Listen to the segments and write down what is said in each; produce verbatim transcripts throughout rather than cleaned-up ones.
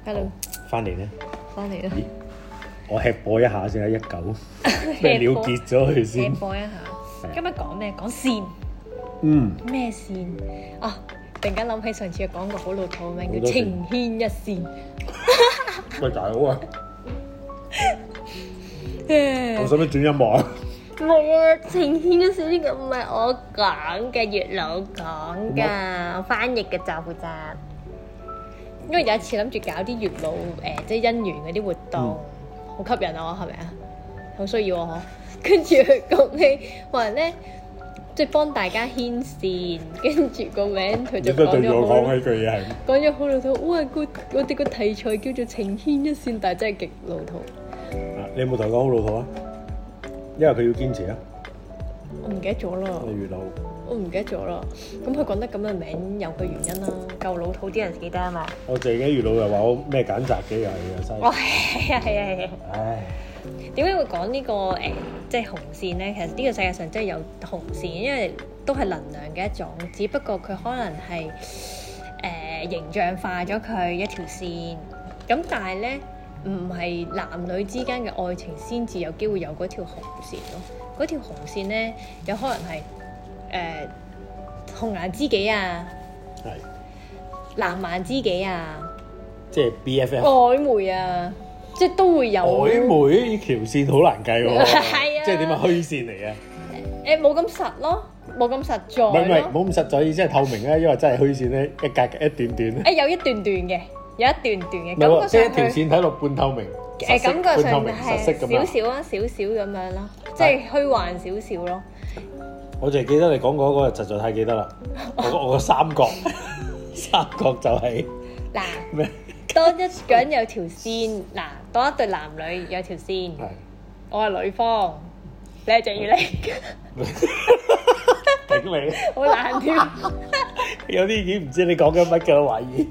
Hello， 翻嚟咧， 翻嚟啦！ 我吃播一下先啊，一九咩了結咗佢先。 吃播一下，今日講咩？講線。 嗯。 咩線？啊！突然間諗起上次講過好老土嘅名叫情牽一線。 喂，大佬啊！我使唔使轉音樂啊？ 冇啊！情牽一線呢個唔係我講嘅，月老講㗎，我翻譯嘅就負責。因為有一次諗住搞啲月老誒、呃，即係姻緣嗰啲活動，好、嗯、吸引我，係咪啊？好需要我嗬。跟住佢講起話咧，即係幫大家牽線，跟住個名佢就講咗好。講起句嘢係講咗好老土。哇！個我哋個題材叫做情牽一線，但係真係極老土。 啊！你有冇同佢講好老土啊？因為佢要堅持啊。 我唔記得咗啦。 你月老。 我唔記得咗啦，咁佢講得咁嘅名有佢原因啦，夠老土啲人記得啊嘛。我自己月老又話我咩揀擇嘅又係嘥。 哇，係啊係啊係啊！ 唉， 點解會講呢個誒即係紅線咧？其實呢個世界上真係有紅線，因為都係能量嘅一種，只不過佢可能係誒、呃、形象化咗佢一條線。咁但係咧，唔係男女之間嘅愛情先至有機會有嗰條紅線咯。嗰條紅線咧，有可能係。誒、呃、紅顏知己啊，係藍顏知己啊，即係 B F F 曖昧啊，即係都會有曖昧呢條線好難計喎， 係啊， 即係點啊虛線嚟嘅？ 誒冇咁實咯，冇咁實在，唔係唔係冇咁實在，意思係透明啊，因為真係虛線咧，一格一段段咧，誒有一段段嘅，有一段段嘅， 感覺上即係一條線睇落半透明， 誒感覺上係少少啊，少少咁樣咯，即係虛幻少少咯。 我淨係記得你講嗰個實在太記得啦，我我個三角，三角就係嗱咩？當一個人有條線，嗱，當一對男女有條線，我係女方，你係鄭裕玲， 頂你， 好難添， 有啲已經唔知你講緊乜嘅，我懷疑，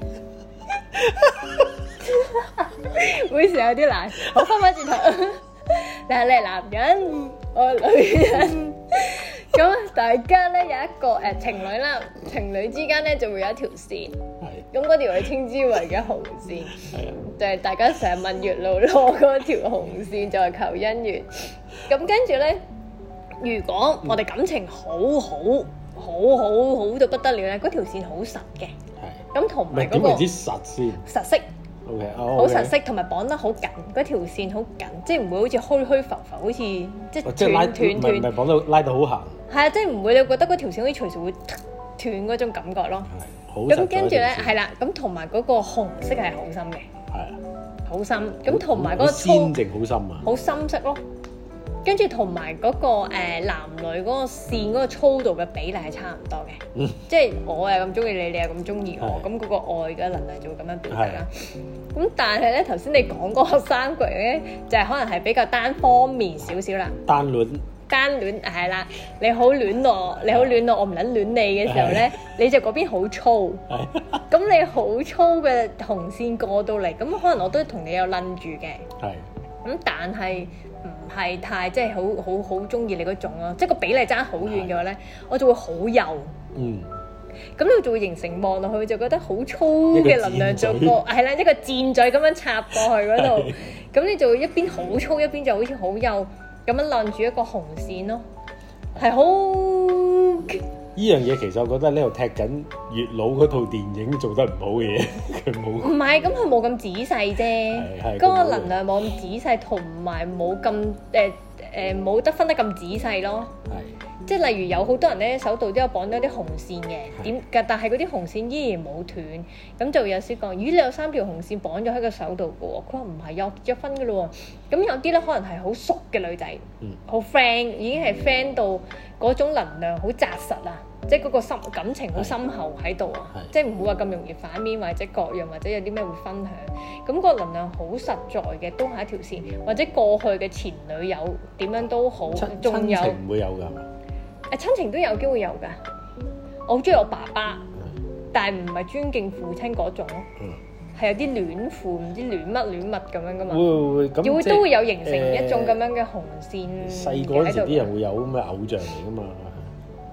會時有啲難，我翻返轉頭，嗱，你係男人，我係女人。咁大家咧有一個誒、呃、情侶啦，情侶之間咧就會有一條線，咁嗰條我哋稱之為嘅紅線，就係大家成日問月老攞嗰條紅線就係求姻緣。咁跟住咧，如果我哋感情好好好好好到不得了咧，嗰條線好實嘅，咁同埋嗰個點為之實先？ 實色。 好、okay, oh, okay. 實色，同埋綁得好緊，嗰條線好緊，即係唔會好似虛虛浮浮，好似即係斷斷斷，唔係綁到拉到好行。 係啊，即係唔會你覺得嗰條線好似隨時會斷嗰種感覺咯。係，好實。咁跟住咧，係啦，咁同埋嗰個紅色係好深嘅。係啊，好深。咁同埋嗰個粗， 鮮淨好深啊， 好深色咯。跟住同埋嗰個、呃、男女嗰個線嗰個粗度嘅比例係差唔多嘅，嗯、即係我係咁中意你，你係咁中意我，咁嗰個愛嘅能量就會咁樣表達啦。咁但係咧，頭先你講嗰個三角咧，就係、是、可能係比較單方面少少啦。單戀，單戀係啦，你好戀我，你好戀我，我唔撚戀你嘅時候咧，你就嗰邊好粗，咁你好粗嘅紅線過到嚟，咁可能我都同你有撚住嘅。係，咁但係。唔係太即係好好好中意你嗰種咯，即係個比例爭好遠嘅話咧，我就會好幼。嗯，咁你就會形成望落去就覺得好粗嘅能量做過，係啦，一個箭嘴咁樣插過去嗰度，咁你就會一邊好粗，一邊就好似好幼咁樣攬住一個紅線咯，係好。 呢樣嘢其實我覺得呢度踢緊月老嗰套電影做得唔好嘅嘢，佢冇。唔係，咁佢冇咁仔細啫，嗰個能量冇咁仔細，同埋冇咁誒誒冇得分得咁仔細咯。係，即係例如有好多人咧手度都有綁咗啲紅線嘅，點？但係嗰啲紅線依然冇斷，咁就有時講，咦你有三條紅線綁咗喺個手度嘅喎？佢話唔係，有結咗婚嘅咯喎。咁有啲咧可能係好熟嘅女仔，好 friend，已經係 friend 到。嗰種能量好紮實啊，即係嗰個深感情好深厚喺度啊，即係唔會話咁容易反面或者各樣或者有啲咩會分享，咁、嗰個能量好實在嘅，都係一條線，或者過去嘅前女友點樣都好，仲有親情唔會有㗎，誒親情都有機會有㗎，我好中意我爸爸，但係唔係尊敬父親嗰種咯。係有啲戀父唔知戀乜戀物咁樣噶嘛，會會會咁，會都會有形成一種咁樣嘅紅線。細個嗰時啲人會有咁嘅偶像嚟噶嘛，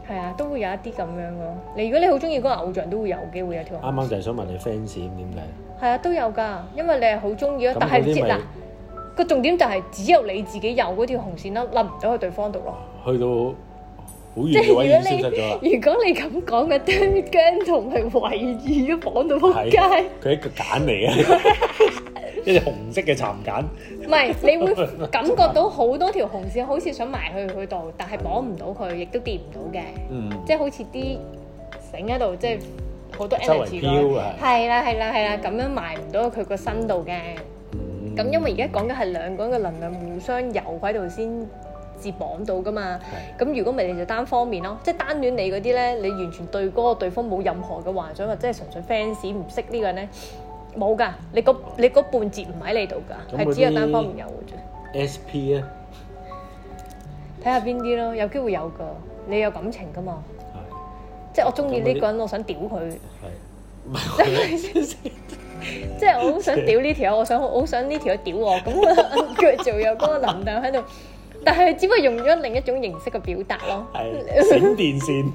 係啊，都會有一啲咁樣咯。你如果你好中意嗰個偶像，都會有機會有條紅線。 啱啱就係想問你 fans 點解？ 係啊，都有㗎，因為你係好中意咯。但係唔知嗱個重點就係只有你自己有嗰條紅線啦，冧唔到去對方度咯。 去到好遠嘅位已經消失咗啦。 如果你咁講嘅，對姜濤係圍住咗綁到撲街。 佢係一個繭嚟嘅，一隻紅色嘅蠶繭。 唔係，你會感覺到好多條紅線，好似想埋去佢度，但係綁唔到佢，亦都跌唔到嘅。嗯，即係好似啲繩喺度，即係好多 energy 咯。係啦，係啦，係啦，咁樣埋唔到佢個身度嘅。咁、嗯、因為而家講緊係兩個人嘅能量互相游喺度先至綁到噶嘛。咁如果唔係你就單方面咯，即係單戀你嗰啲咧，你完全對嗰個對方冇任何嘅幻想，或者係純粹 fans 唔識呢個人咧，冇㗎。你嗰你嗰半截唔喺你度㗎，係只有單方面有嘅啫。 S P 咧， 睇下邊啲咯，有機會有㗎。你有感情㗎嘛？即係我中意呢個人，我想屌佢。係。即係我好想屌呢條友，我想好想呢條友屌我，咁我佢就有嗰個能量喺度，但係只不過用咗另一種形式嘅表達咯。係閃電線，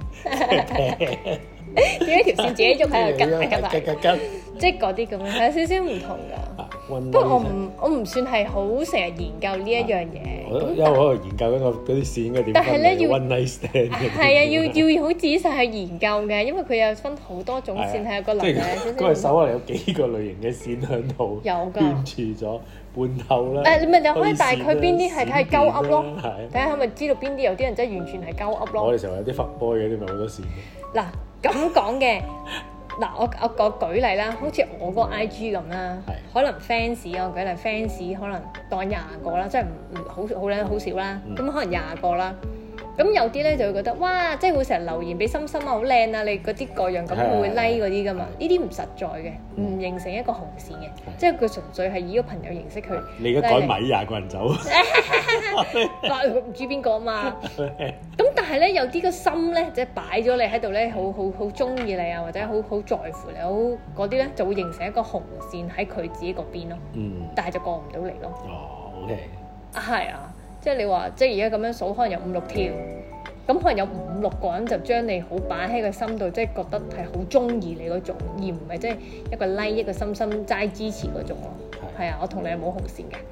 點一條線自己喐喺度吉吉吉，即係嗰啲咁樣，係有少少唔同㗎。不過我唔我唔算係好成日研究呢一樣嘢， 因為我喺度研究緊個嗰啲線應該點分嘅 one night stand。 係啊，要要好仔細去研究嘅，因為佢有分好多種線，係有個能量少少。嗰個手可能有幾個類型嘅線喺度，有㗎圈住咗半透啦。誒，你咪你可以大概邊啲係睇係鳩噏咯，睇下係咪知道邊啲有啲人真係完全係鳩噏咯。我哋成日有啲 fuck boy 嘅啲咪好多線。嗱咁講嘅。嗱，我我我舉例啦，好似我個 I G 咁啦，可能 fans 我舉例 fans 可能當廿個啦，即係唔唔好好咧好少啦，咁、嗯、可能廿個啦。咁有啲咧就會覺得哇，即係會成日留言俾心心啊，好靚啊，你嗰啲個樣咁會 like 嗰啲噶嘛？呢啲唔實在嘅，唔形成一個紅線嘅，嗯、即係佢純粹係以個朋友形式去。你而家改埋廿個人走，唔知邊個啊嘛？咁但係咧有啲個心咧，即係擺咗你喺度咧，好好好中意你啊，或者好好在乎你，好嗰啲咧就會形成一個紅線喺佢自己嗰邊咯。嗯，但係就過唔到嚟咯。 哦 ，OK。 係啊。即係你話，即係而家咁樣數，可能有五六條，咁可能有五六個人就將你好擺喺個心度，即係覺得係好中意你嗰種，而唔係即係一個 like 一個心心齋支持嗰種咯。係啊，我同你係冇紅線嘅。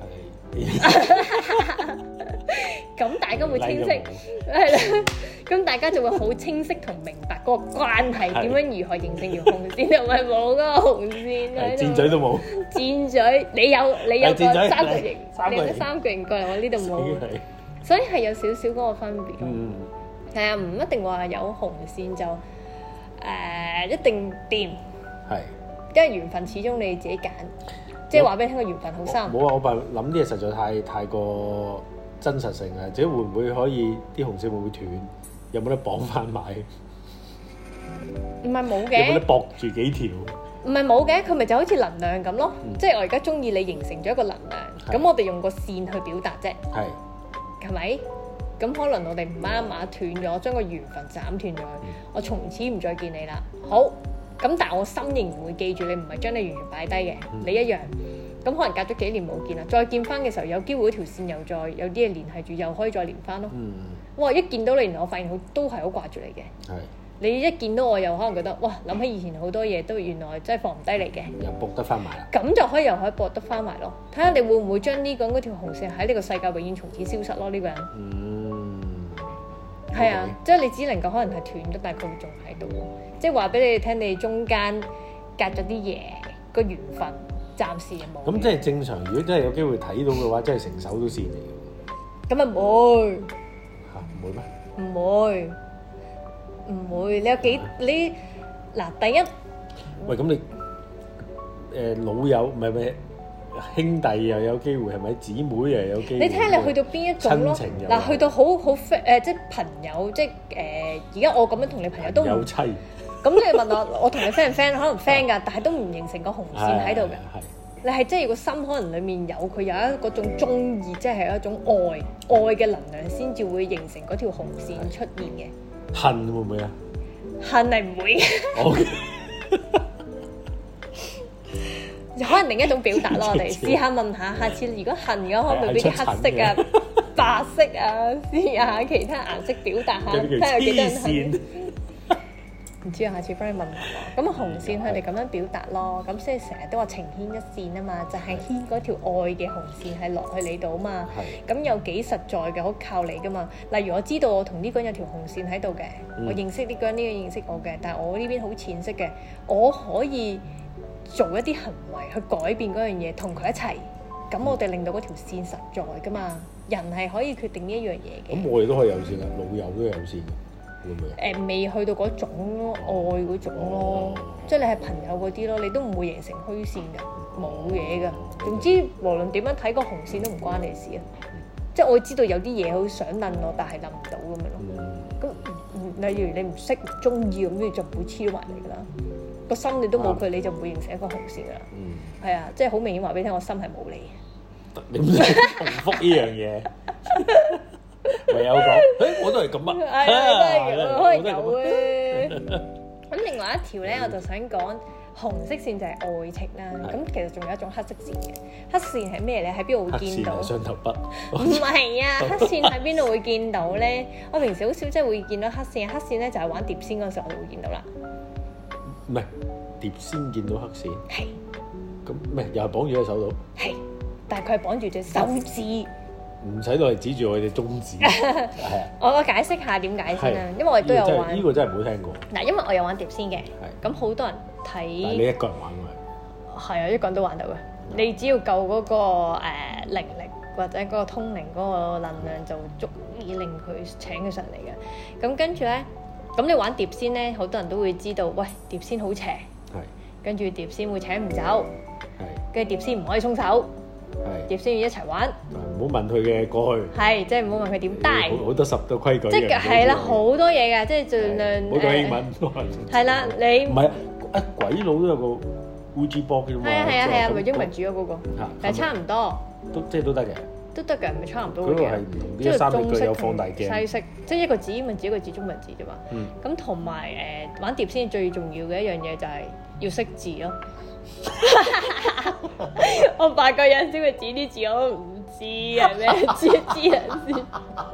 咁大家會清晰，係啦。咁大家就會好清晰同明白嗰個關係點樣如何形成條紅線，又唔係冇嗰個紅線喺度。箭嘴都冇。箭嘴，你有你有個三角形，你有個三角形過嚟，我呢度冇。所以係有少少嗰個分別。嗯。係啊，唔一定話有紅線就誒一定掂。係。因為緣分始終你自己揀。即係話俾你聽個緣分好深。冇啊！我話諗啲嘢實在太太過真實性啊！即係會唔會可以啲紅線會唔會斷？有冇得綁翻埋？唔係冇嘅。有冇得駁住幾條？唔係冇嘅，佢咪就好似能量咁咯。嗯、即係我而家中意你，形成咗一個能量。咁是我哋用個線去表達啫。係是。係咪？咁可能我哋唔啱啱斷咗，將個緣分斬斷咗，嗯、我從此唔再見你啦。好。咁但係我心仍然會記住你，唔係將你完全擺低嘅，嗯、你一樣。咁可能隔咗幾年冇見啦，再見翻嘅時候，有機會嗰條線又再有啲嘢聯繫住，又可以再連翻咯。嗯、哇！一見到你，原來我發現好都係好掛住你嘅。係是。你一見到我又可能覺得，哇！諗起以前好多嘢都原來真係放唔低你嘅。又駁得翻埋啦。咁就可以又可以駁得翻埋咯。睇下你會唔會將呢個嗰條紅線喺呢個世界永遠從此消失咯？呢、呢個人。嗯。係啊，即係你只能夠可能係斷咗，但係佢會仲喺度。即係話俾你哋聽，你中間隔咗啲嘢，個緣分暫時冇。咁即係正常，如果真係有機會睇到嘅話，真係成手都線嚟嘅。咁啊唔會嚇唔會咩？唔會唔會？你有幾你嗱第一？喂，咁你誒老友唔係咩兄弟又有機會係咪？姊妹又有機會？你睇下你去到邊一種咯？嗱，去到好好 friend 誒，即係朋友，即係誒而家我咁樣同你朋友都有妻。咁你問我，我同你 friend 唔 friend？可能 friend 㗎，但係都唔形成個紅線喺度嘅。你係即係個心可能裡面有佢有一嗰種中意，即係一種愛愛嘅能量，先至會形成嗰條紅線出現嘅。恨會唔會啊？恨係唔會嘅。可能另一種表達咯，我哋試下問下，下次如果恨嘅話，可唔可以俾啲黑色啊？ 白色啊，試下其他顏色表達下，睇下幾多人係。唔知啊，下次幫你問下。咁紅線佢哋咁樣表達咯，咁所以成日都話情牽一線啊嘛，就係、是、牽嗰條愛嘅紅線係落去你度啊嘛。咁有幾實在嘅，好靠你噶嘛。例如我知道我同呢個人有條紅線喺度嘅，嗯、我認識呢個人，呢、呢個認識我嘅，但係我呢邊好淺色嘅，我可以做一啲行為去改變嗰樣嘢，同佢一齊。咁我哋令到嗰條線實在噶嘛。人係可以決定呢一樣嘢嘅。咁我哋都可以有線啊，老友都有線嘅。誒未、呃、去到嗰種愛嗰種咯，哦、即係你係朋友嗰啲咯，你都唔會形成虛線㗎，冇嘢㗎。總之無論點樣睇個紅線都唔關你事啊。嗯、即係我知道有啲嘢好想諗我，但係諗唔到咁樣咯。咁、嗯、例如你唔識唔中意咁，你就唔會黐埋嚟㗎啦。個心你都冇佢，你就唔會形成一個紅線㗎啦。係、嗯、啊，即係好明顯話俾你聽，我心係冇你。你唔使重複呢樣嘢。唯有講，誒我都係咁啊，係啊，都係咁，可以有嘅。咁另外一條咧，我就想講紅色線就係愛情啦。咁其實仲有一種黑色線嘅，黑線係咩咧？喺邊度會見到？黑線係雙頭筆。唔係啊，黑線喺邊度會見到咧？我平時好少即係會見到黑線，黑線咧就係玩碟仙嗰陣時我就會見到啦。唔係碟仙見到黑線。係。咁咩？又係綁住喺手度？係，但係佢係綁住隻手指。唔使落嚟指住我哋中指，係啊！我解釋下點解先啦，因為我哋都有玩。呢個真係冇聽過。嗱，因為我有玩碟仙嘅，咁好多人睇。但係你一個人玩㗎？係啊，一個人都玩到嘅。你只要夠嗰個誒靈力或者嗰個通靈嗰個能量，就足以令佢請佢上嚟嘅。咁跟住咧，咁你玩碟仙咧，好多人都會知道，喂，碟仙好邪。係。跟住碟仙會請唔走。係。跟住碟仙唔可以鬆手。係，碟仙要一齊玩，唔好問佢嘅過去。係，即係唔好問佢點帶。好多十個規矩。即係係啦，好多嘢㗎，即係盡量。好多英文。係啦，你唔係啊？鬼佬都有個烏茲波嘅嘛。係啊係啊係啊，咪英文主咗嗰個。嚇，但係差唔多。都即係都得嘅。都得嘅，咪差唔多嘅。嗰個係唔同啲三個句有放大鏡。西式，即係一個字英文字一個字中文字啫嘛。嗯。咁同埋誒玩碟仙最重要嘅一樣嘢就係要識字咯。我發覺有陣時佢指啲字我都唔知係咩字，知人先。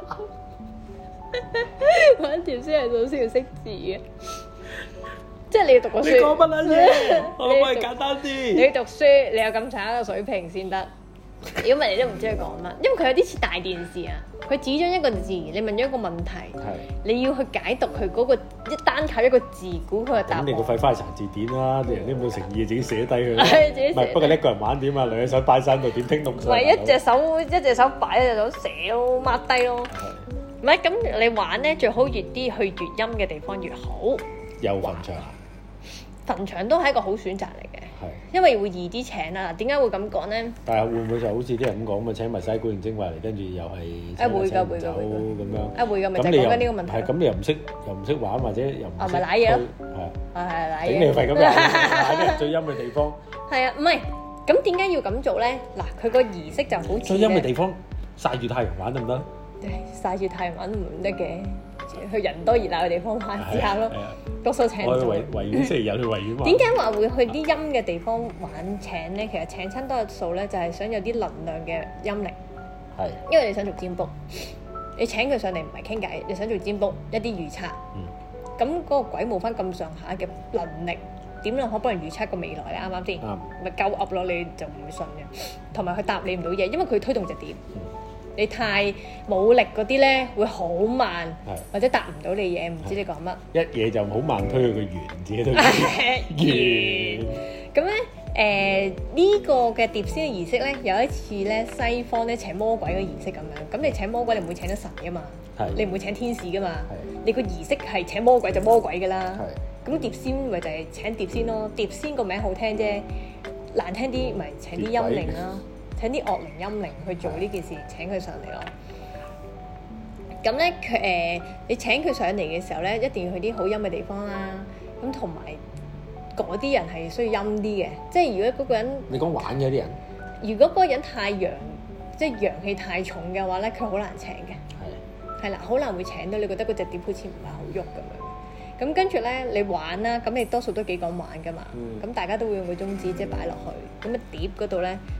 玩碟仙係首先要識字嘅，即係你要讀個書。你講乜撚嘢？我可唔可以簡單啲？你要讀書，你有咁長一個水平先得。如果唔係，你都唔知佢講乜，因為佢有啲似大電視啊。佢指咗一個字，你問咗一個問題，你要去解讀佢嗰個一單靠一個字估佢嘅答案。咁你個廢花係查字典啦，啲人都冇誠意，自己寫低佢。係自己寫。唔係，不過一個人玩點啊？兩隻手擺曬度點聽懂？唔係一隻手一隻手擺，一隻手寫咯，抹低咯。唔係咁，你玩咧最好越啲去越陰嘅地方越好。有墳場。墳場都係一個好選擇嚟嘅，因為會易啲請啊。點解會咁講咧？但係會唔會就好似啲人咁講，咪請埋曬古靈精怪嚟，跟住又係誒會㗎會㗎會咁樣。誒會㗎，咪就係講緊呢個問題。係咁，你又唔識又唔識玩，或者又唔識。啊咪瀨嘢咯，係係係瀨嘢。頂你肺咁樣，喺最陰嘅地方。係啊，唔係咁點解要咁做咧？嗱，佢個儀式就好似最陰嘅地方曬住太陽玩得唔得？曬住太陽玩唔得嘅。去人多熱鬧嘅地方玩試下咯，多數請做。我去維維園星期日去維園玩。點解話會去啲陰嘅地方玩請咧？其實請親多數咧就係想有啲能量嘅陰靈。係。因為你想做占卜，你請佢上嚟唔係傾偈，你想做占卜一啲預測。嗯。咁嗰個鬼冇翻咁上下嘅能力，點樣可幫人預測個未來咧？啱啱先？啱。咪鳩噏咯，你就唔會信嘅。同埋佢答你唔到嘢，因為佢推動隻點。你太冇力嗰啲咧，會好慢，或者答唔到你嘢，唔知你講乜。一嘢就好慢推佢個圓，自己都圓。咁咧，誒呢個嘅碟仙嘅儀式咧，有一次咧，西方咧請魔鬼嘅儀式咁樣。咁你請魔鬼，你唔會請得神噶嘛？你唔會請天使噶嘛？你個儀式係請魔鬼就魔鬼噶啦。咁碟仙咪就係請碟仙咯。碟仙個名好聽啫，難聽啲咪請啲陰靈啦。請啲惡靈陰靈去做呢件事，請佢上嚟咯。咁咧佢誒，你請佢上嚟嘅時候咧，一定要去啲好陰嘅地方啦。咁同埋嗰啲人係需要陰啲嘅，即係如果嗰個人你講玩嘅啲人，如果嗰個人太陽，即係陽氣太重嘅話咧，佢好難請嘅。係係啦，好難會請到。你覺得嗰隻碟好似唔係好喐咁樣。咁跟住咧，你玩啦，咁你多數都幾講玩噶嘛。咁、嗯、大家都會用個中指即係擺落去，咁啊碟嗰度咧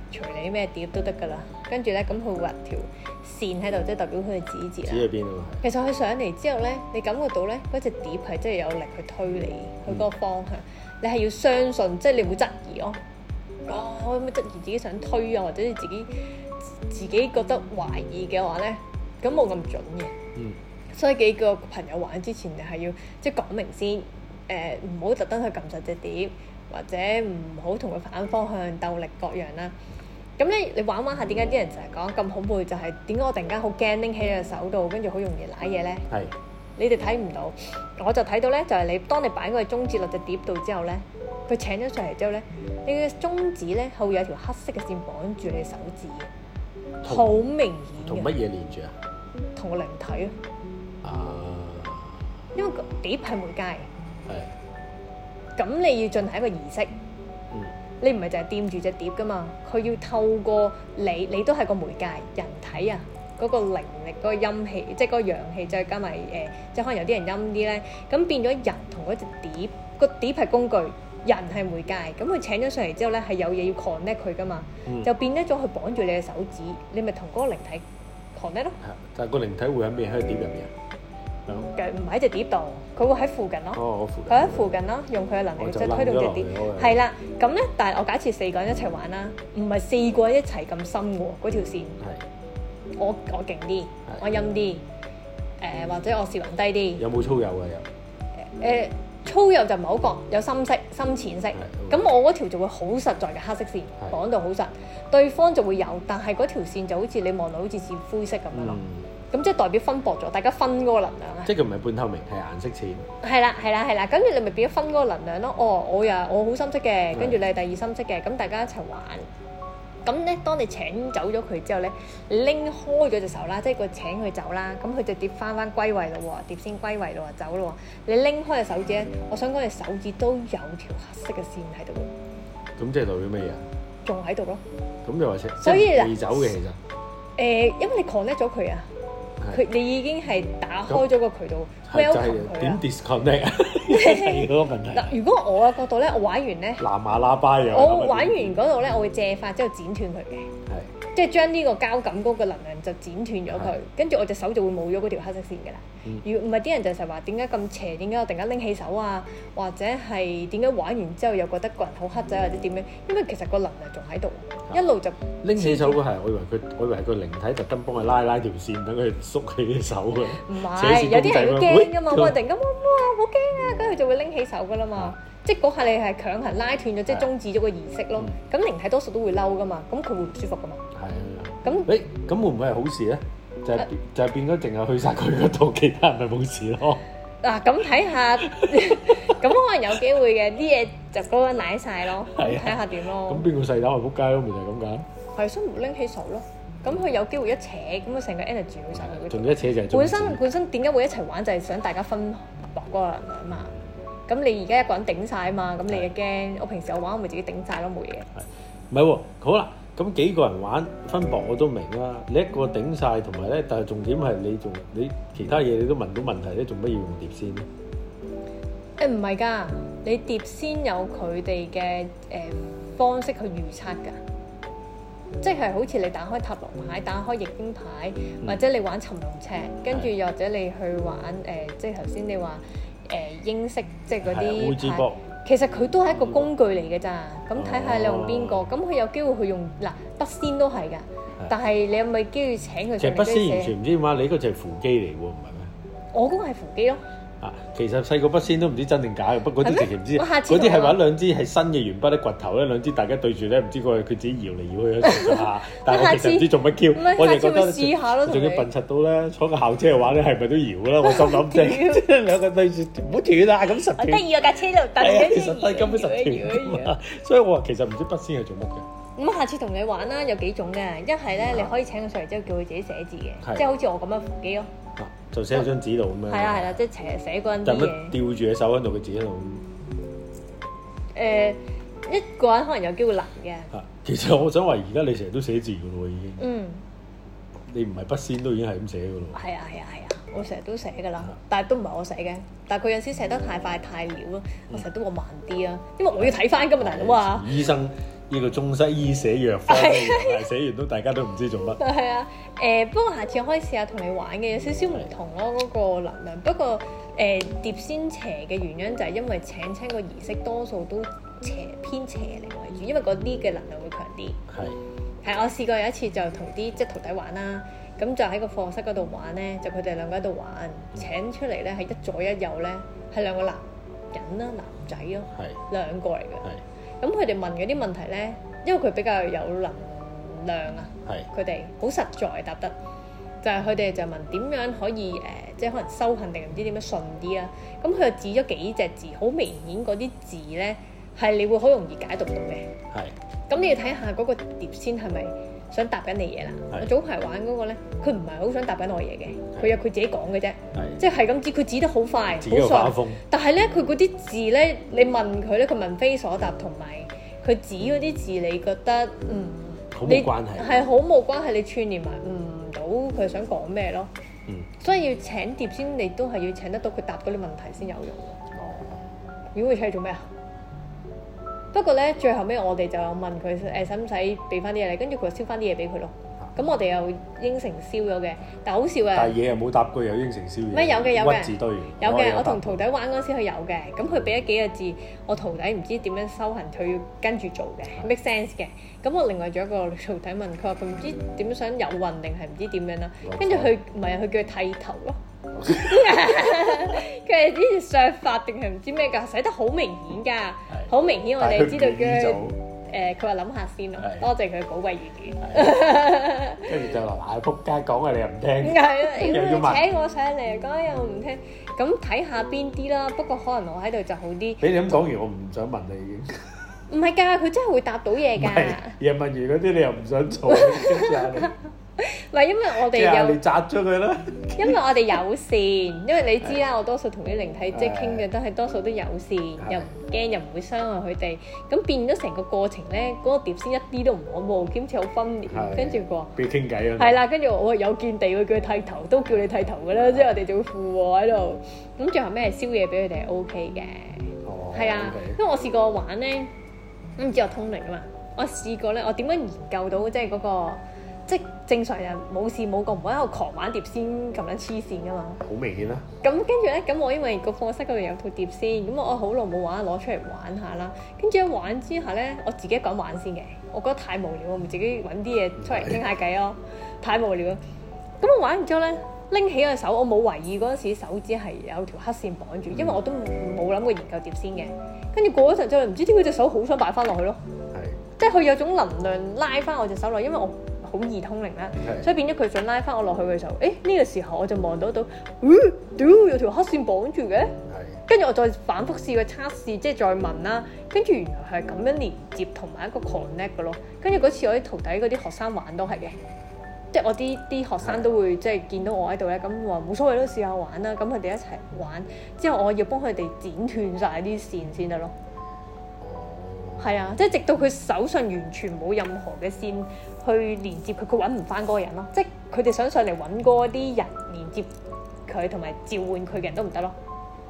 隨你咩碟都得㗎啦。跟住咧，咁佢畫條線喺度，即係代表佢嘅指節啦。 指喺邊啊？ 其實佢上嚟之後咧，你感覺到咧嗰隻碟係真係有力去推你去嗰個方向。嗯、你係要相信，即係你唔會質疑咯。哦，我有冇質疑自己想推啊，或者你自己自己覺得懷疑嘅話咧，咁冇咁準嘅。嗯。所以幾個朋友玩之前，你係要即係講明先，誒唔好特登去撳實隻碟，或者唔好同佢反方向鬥力各樣啦。咁咧，你玩玩下，點解啲人成日講咁恐怖？就係點解我突然間好驚拎起隻手度，跟住好容易揦嘢咧？係。你哋睇唔到，我就睇到咧，就係你當你擺嗰個中指落隻碟度之後咧，佢請咗上嚟之後咧，你嘅中指咧係會有條黑色嘅線綁住你手指嘅，好明顯嘅。同乜嘢連住啊？同個靈體啊！啊！因為個碟係媒介，係。咁你要進行一個儀式。嗯。你唔係就係掂住隻碟噶嘛？佢要透過你，你都係個媒介人體啊，嗰、嗰個靈力、嗰、嗰個陰氣，即係嗰個陽氣，再加埋誒、呃，即係可能有啲人陰啲咧，咁變咗人同嗰隻碟，個碟係工具，人係媒介，咁佢請咗上嚟之後咧，係有嘢要 connect 佢噶嘛，嗯、就變咗咗佢綁住你嘅手指，你咪同嗰個靈體 connect 咯。但係個靈體會喺咩？喺碟入面啊？唔喺隻碟度，佢會喺附近咯。哦，附近。佢喺附近咯，用佢嘅能力即係推動隻碟。係啦，咁咧，但係我假設四個人一齊玩啦，唔係四個人一齊咁深喎，嗰條線。係。我我勁啲，我陰啲，誒或者我視魂低啲。有冇粗幼啊？有。誒粗幼就唔係好覺，有深色、深淺色。咁我嗰條就會好實在嘅黑色線，綁到好實。對方就會有，但係嗰條線就好似你望到好似似灰色咁樣咯。咁即係代表分薄咗，大家分嗰個能量啊！即係佢唔係半透明，係顏色淺。係啦，係啦，係啦，跟住你咪變咗分嗰個能量咯。哦，我又我好深色嘅，跟住你係第二深色嘅，咁大家一齊玩。咁咧，當你請走咗佢之後咧，你拎開咗隻手啦，即係個請佢走啦，咁佢就碟翻翻歸位咯喎，碟先歸位咯喎，走咯喎。你拎開隻手指咧，我想講隻手指都有條黑色嘅線喺度。咁即係代表乜嘢啊？仲喺度咯。咁就話請，所以未走嘅其實。誒，因為你 connect 咗佢啊。佢你已經係打開咗個渠道 welcome 佢點 disconnect 啊？係嗰個問題。嗱，如果我嘅角度咧，我玩完咧，藍牙喇叭又我玩完嗰度咧，我會借法之後剪斷佢嘅，係即係將呢個膠感嗰個能量就剪斷咗佢，跟住我隻手就會冇咗嗰條黑色線㗎啦。如唔係啲人就成日話點解咁邪？點解我突然間拎起手啊？或者係點解玩完之後又覺得個人好黑仔或者點樣？因為其實個能量仲喺度，一路就拎起手嗰係，我以為佢，我以為係個靈體特登幫佢拉拉條線，等佢縮起隻手嘅。唔係，有啲人會驚㗎嘛，我突然間哇哇好驚啊，跟住就會拎起手㗎啦嘛。即係嗰下你係強行拉斷咗，即係終止咗個儀式咯。咁靈體多數都會嬲㗎嘛，咁佢會唔舒服㗎嘛。係啊。咁誒，咁會唔會係好事咧？就係就係變咗，淨係去曬佢嗰度，其他人咪冇事咯。嗱，咁睇下，咁可能有機會嘅啲嘢就嗰個舐曬咯，睇下點咯。咁邊個細膽係撲街咯？咪就係咁解。係，所以唔拎起手咯。咁佢有機會一扯，咁佢成個 energy 去曬佢嗰度。仲一扯就係本身本身點解會一齊玩？就係想大家分薄嗰個能量嘛。咁你而家一個人頂曬啊嘛，咁你又驚。我平時我玩我咪自己頂曬咯，冇嘢。係，唔係喎？好啦。咁幾個人玩分薄我都明啦，你一個頂晒，同埋咧，但係重點係你仲你其他嘢你都問到問題咧，做乜要用碟仙咧？誒唔係㗎，你碟仙有佢哋嘅誒方式去預測㗎，即係好似你打開塔羅牌、打開易經牌，嗯、或者你玩尋龍尺，跟住又或者你去玩誒、呃，即係頭先你話誒、呃、英式，即係嗰啲牌。其實佢都係一個工具嚟嘅咋，咁睇下你用邊個，咁佢有機會去用嗱筆仙都係㗎，但係你有冇機會請佢？其實筆仙完全唔知點解，你嗰個就係扶乩嚟喎，唔係咩？我嗰個係扶乩咯。啊，其實細個筆仙都唔知真定假嘅，不過嗰啲直情唔知，嗰啲係揾兩支係新嘅鉛筆咧，掘頭咧兩支大家對住咧，唔知個佢自己搖嚟搖去喺度下，但係我其實唔知做乜 Q，我哋覺得試下咯，仲要笨柒到咧，坐個校車玩咧係咪都搖㗎啦？我心諗即係兩個對住唔好斷啊，咁實斷。得意啊架車度，但係其實根本實斷㗎嘛，所以我話其實唔知筆仙係做乜嘅。咁下次同你玩啦，有幾種嘅，一係咧你可以請佢上嚟之後叫佢自己寫字嘅，即係好似我咁樣扶乩咯。就寫喺張紙度咁樣。係啊係啦，即係寫寫嗰陣啲嘢。就乜吊住隻手喺度，佢自己喺度。誒，一個人可能有機會難嘅。啊，其實我想話，而家你成日都寫字㗎咯，已經。嗯。你唔係筆仙都已經係咁寫㗎咯。係啊係啊係啊，我成日都寫㗎啦，但係都唔係我寫嘅，但係佢有時寫得太快太潦咯，我成日都話慢啲啊，因為我要睇翻㗎嘛大佬啊。醫生。 呢個中西醫寫藥方嘅嘢，寫完都大家都唔知做乜。 係啊，誒、呃、不過下次我可以試下同你玩嘅，有少少唔同咯嗰、那個能量。不過誒、呃、碟仙邪嘅原因就係因為請親個儀式多數都邪偏邪靈為主，因為嗰啲嘅能量會強啲。係係，我試過有一次就同啲即係徒弟玩啦，咁就喺個課室嗰度玩咧，就佢哋兩個喺度玩，請出嚟咧係一左一右咧係兩個男人啦，男仔咯，係兩個嚟嘅。咁佢哋問嗰啲問題咧，因為佢比較有能量啊，佢哋好實在答得，就係佢哋就問點樣可以誒、呃，即係可能修行定唔知點樣順啲啊？咁佢就指咗幾隻字，好明顯嗰啲字咧係你會好容易解讀到嘅。係，咁你要睇下嗰個碟仙係咪想答緊你嘢啦？我早排玩嗰個咧，佢唔係好想答緊我嘢嘅，佢有佢自己講嘅啫，即係咁指，佢指得好快，好順。但係咧，佢嗰啲字咧，你問佢咧，佢問非所答，同埋佢指嗰啲字，你覺得嗯， 好冇關係， 係好冇關係，你串連埋唔到佢想講咩咯？嗯，所以要請碟仙，你都係要請得到佢答嗰啲問題先有用。哦，如果佢請你做咩啊？不過咧，最後尾我哋就有問佢誒使唔使俾翻啲嘢你，跟住佢就燒翻啲嘢俾佢咯。咁、啊、我哋又應承燒咗嘅，但係好笑啊！ 但係嘢又冇答過，又應承燒嘢。 咩有嘅有嘅， 屈字堆有嘅。我同徒弟玩嗰時佢有嘅，咁佢俾咗幾個字，我徒弟唔知點樣修行，佢要跟住做嘅、啊、make sense 嘅。咁我另外仲有一個徒弟問佢話佢唔知點想有運定係唔知點樣啦，跟住佢唔係佢叫佢剃頭咯。佢係啲削髮定係唔知咩㗎，寫得好明顯㗎，好明顯我哋知道佢誒，佢話諗下先咯，多謝佢寶貴意見。 跟住就話嗱，仆街講啊，你又唔聽， 係啊，又要請我上嚟講又唔聽，咁睇下邊啲啦。不過可能我喺度就好啲。俾你咁講完，我唔想問你已經。 唔係㗎，佢真係會答到嘢㗎。 又問完嗰啲你又唔想做，跟住下你。 唔係因為我哋有， 你摘咗佢啦。 因為我哋友善，因為你知啦，我多數同啲靈體即係傾嘅都係多數都友善，又唔驚又唔會傷害佢哋。咁變咗成個過程咧，嗰個碟仙一啲都唔可怖，兼且好分裂。跟住佢話，俾佢傾偈啊。係啦，跟住我有見地會叫佢剃頭，都叫你剃頭㗎啦。即係我哋就會附和喺度。咁最後咩燒嘢俾佢哋係 O K 嘅。哦。係啊，因為我試過玩咧，唔知我通靈啊嘛。我試過咧，我點樣研究到即係嗰個？即正常人冇事冇過，唔會喺度狂玩碟仙咁樣黐線噶嘛。好明顯啦。咁跟住咧，咁我因為個課室嗰度有套碟仙，咁我好耐冇玩，攞出嚟玩下啦。跟住一玩之下咧，我自己一個人玩先嘅，我覺得太無聊，我咪自己揾啲嘢出嚟傾下偈咯。太無聊啦。咁我玩完之後咧，拎起個手，我冇懷疑嗰陣時手指係有條黑線綁住，因為我都冇諗過研究碟仙嘅。跟住過咗陣之後，唔知點解隻手好想擺翻落去咯。係。即係佢有種能量拉翻我隻手落，因為我好易通靈啦，的所以變咗佢想拉翻我落去嘅時候，誒呢、呢個時候我就望到到，嗯，屌有條黑線綁住嘅，跟住的我再反覆試個測試，即係再問啦，跟住原來係咁樣連接同埋一個 connect 嘅咯，跟住嗰次我啲徒弟嗰啲學生玩都係嘅，即係我啲啲學生都會即係見到我喺度咧，咁話冇所謂都試下玩啦，咁佢哋一齊玩，之後我要幫佢哋剪斷晒啲線先得咯。係啊，即係直到佢手上完全冇任何嘅線去連接佢，佢揾唔翻嗰個人咯。即係佢哋想上嚟揾嗰啲人連接佢同埋召喚佢嘅人都唔得咯。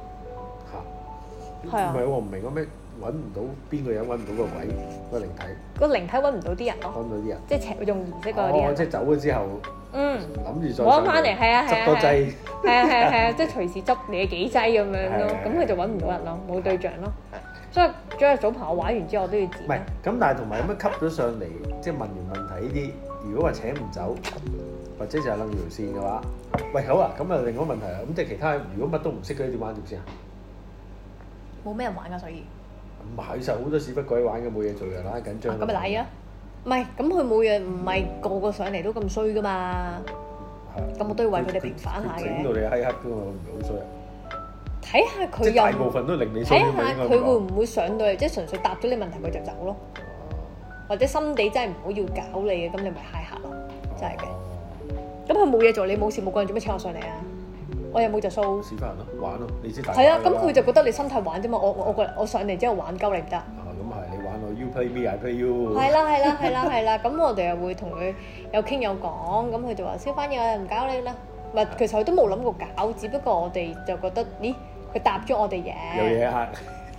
嚇！係啊。唔係我唔明嗰咩揾唔到邊個人，揾唔到個鬼個靈體。個靈體揾唔到啲人咯。揾唔到啲人。即係用儀式嗰啲人。哦，即係走咗之後。嗯。諗住再攞翻嚟，係啊係啊。執多劑。係啊係啊係啊，即係隨時執你幾劑咁樣咯。咁佢就揾唔到人咯，冇對象咯。所以，昨日早排我玩完之後，我都要剪。唔係，咁但係同埋有乜吸咗上嚟，即係問完問題呢啲，如果話請唔走，或者就係楞條線嘅話，喂好啊，咁啊另外一個問題啦，咁即係其他如果乜都唔識嘅點玩碟仙啊？冇咩人玩㗎，所以。唔係，其實好多屎忽鬼玩嘅，冇嘢做嘅，懶緊張。咁咪賴啊！唔係，咁佢冇嘢，唔係個個上嚟都咁衰㗎嘛。係。咁我都要為佢哋平反下嘅。整到你閪黑㗎嘛，唔係好衰啊！睇下佢又，大部分都令你睇下佢會唔會上到嚟，即係純粹答咗你問題佢就走咯，或者心地真係唔好要搞你嘅，咁你咪嗨客咯，真係嘅。咁佢冇嘢做，你冇事冇幹，做咩請我上嚟啊？我又冇就數。試翻人咯，玩咯，你知大。係啊，咁佢就覺得你心態玩啫嘛，我我我我上嚟之後玩鳩你唔得。啊，咁係你玩我 You play me I play you。係啦係啦係啦係啦，咁我哋又會同佢有傾有講，咁佢就話燒翻嘢，我又唔搞你啦。唔係，其實佢都冇諗過搞，只不過我哋就覺得，咦，佢答咗我哋嘢，有嘢嚇，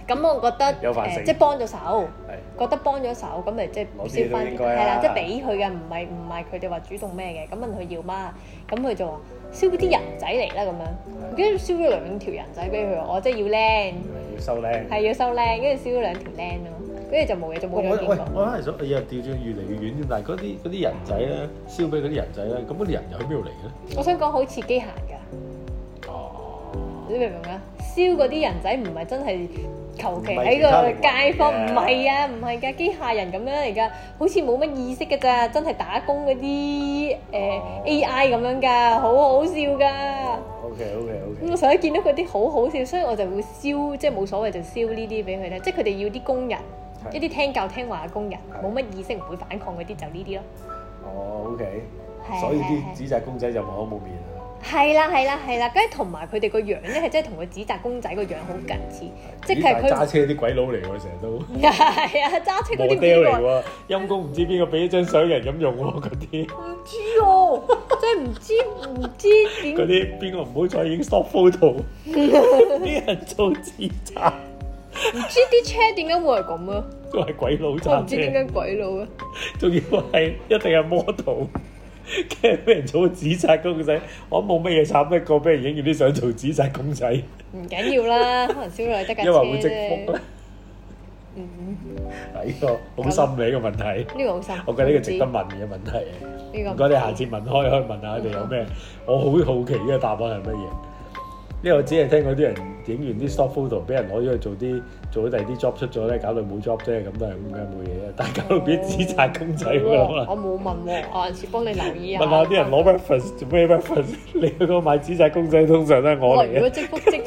咁我覺得有飯食， 即係幫咗手，覺得幫咗手，咁咪即係燒翻，係啦，即係俾佢嘅，唔係唔係佢哋話主動咩嘅，咁問佢要嗎？咁佢就話燒嗰啲人仔嚟啦咁樣，跟住燒咗兩條人仔俾佢，我即係要靚， 要收靚， 係要收靚，跟住燒咗兩條靚咯，跟住就冇嘢，就冇咗見過。 我係想又調轉越嚟越遠添，但係嗰啲嗰啲人仔咧，燒俾嗰啲人仔咧，咁嗰啲人又喺邊度嚟嘅咧？ 我想講好似機械㗎。你明唔明啊？燒嗰啲人仔唔係真係求其喺個街坊，唔係啊，唔係㗎，機械人咁樣嚟㗎，好似冇乜意識㗎咋，真係打工嗰啲誒 A I 咁樣㗎，好好笑㗎。 OK OK OK。 咁我成日見到嗰啲好好笑，所以我就會燒，即係冇所謂就燒呢啲俾佢咧，即係佢哋要啲工人，一啲聽教聽話嘅工人，冇乜意識唔會反抗嗰啲就呢啲咯。 哦 OK。所以啲紙紮公仔就冇口冇面啦。 係啦係啦係啦，跟住同埋佢哋個樣咧係真係同個紙紮公仔個樣好近似，即係佢揸車啲鬼佬嚟喎，成日都係啊揸車嗰啲 model 嚟喎，陰公唔知邊個俾一張相人咁用喎嗰啲，唔知哦，真係唔知唔知點嗰啲邊個唔好彩已經 stop photo，啲人做紙紮，唔知啲車點解會係咁啊？都係鬼佬揸車，我唔知點解鬼佬啊，仲要係一定係 model。跟住俾人做紙紮公仔，我冇乜嘢慘得過俾人影完啲相做紙紮公仔。唔緊要啦，可能燒落嚟得架車啫。因為會積福。嗯。係呢個好心理嘅問題。呢個好深。我覺得呢個值得問嘅問題。呢個。唔該，你下次問開可以問下佢哋有咩？我好好奇呢個答案係乜嘢？因為我只係聽嗰啲人影完啲 stock photo 俾人攞咗去做啲做咗第二啲 job 出咗咧，搞到冇 job 啫，咁都係咁嘅冇嘢啊！但係搞到變紙紮公仔喎，我冇問喎，我下次幫你留意下。問下啲人攞 reference 做咩 reference？你去嗰個買紙紮公仔通常都係我嚟嘅。如果積福積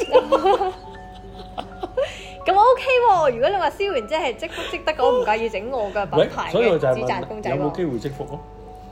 咁 OK 喎，如果你話燒完即係積福積得，我唔介意整我嘅品牌嘅紙紮公仔喎。有冇機會積福咯？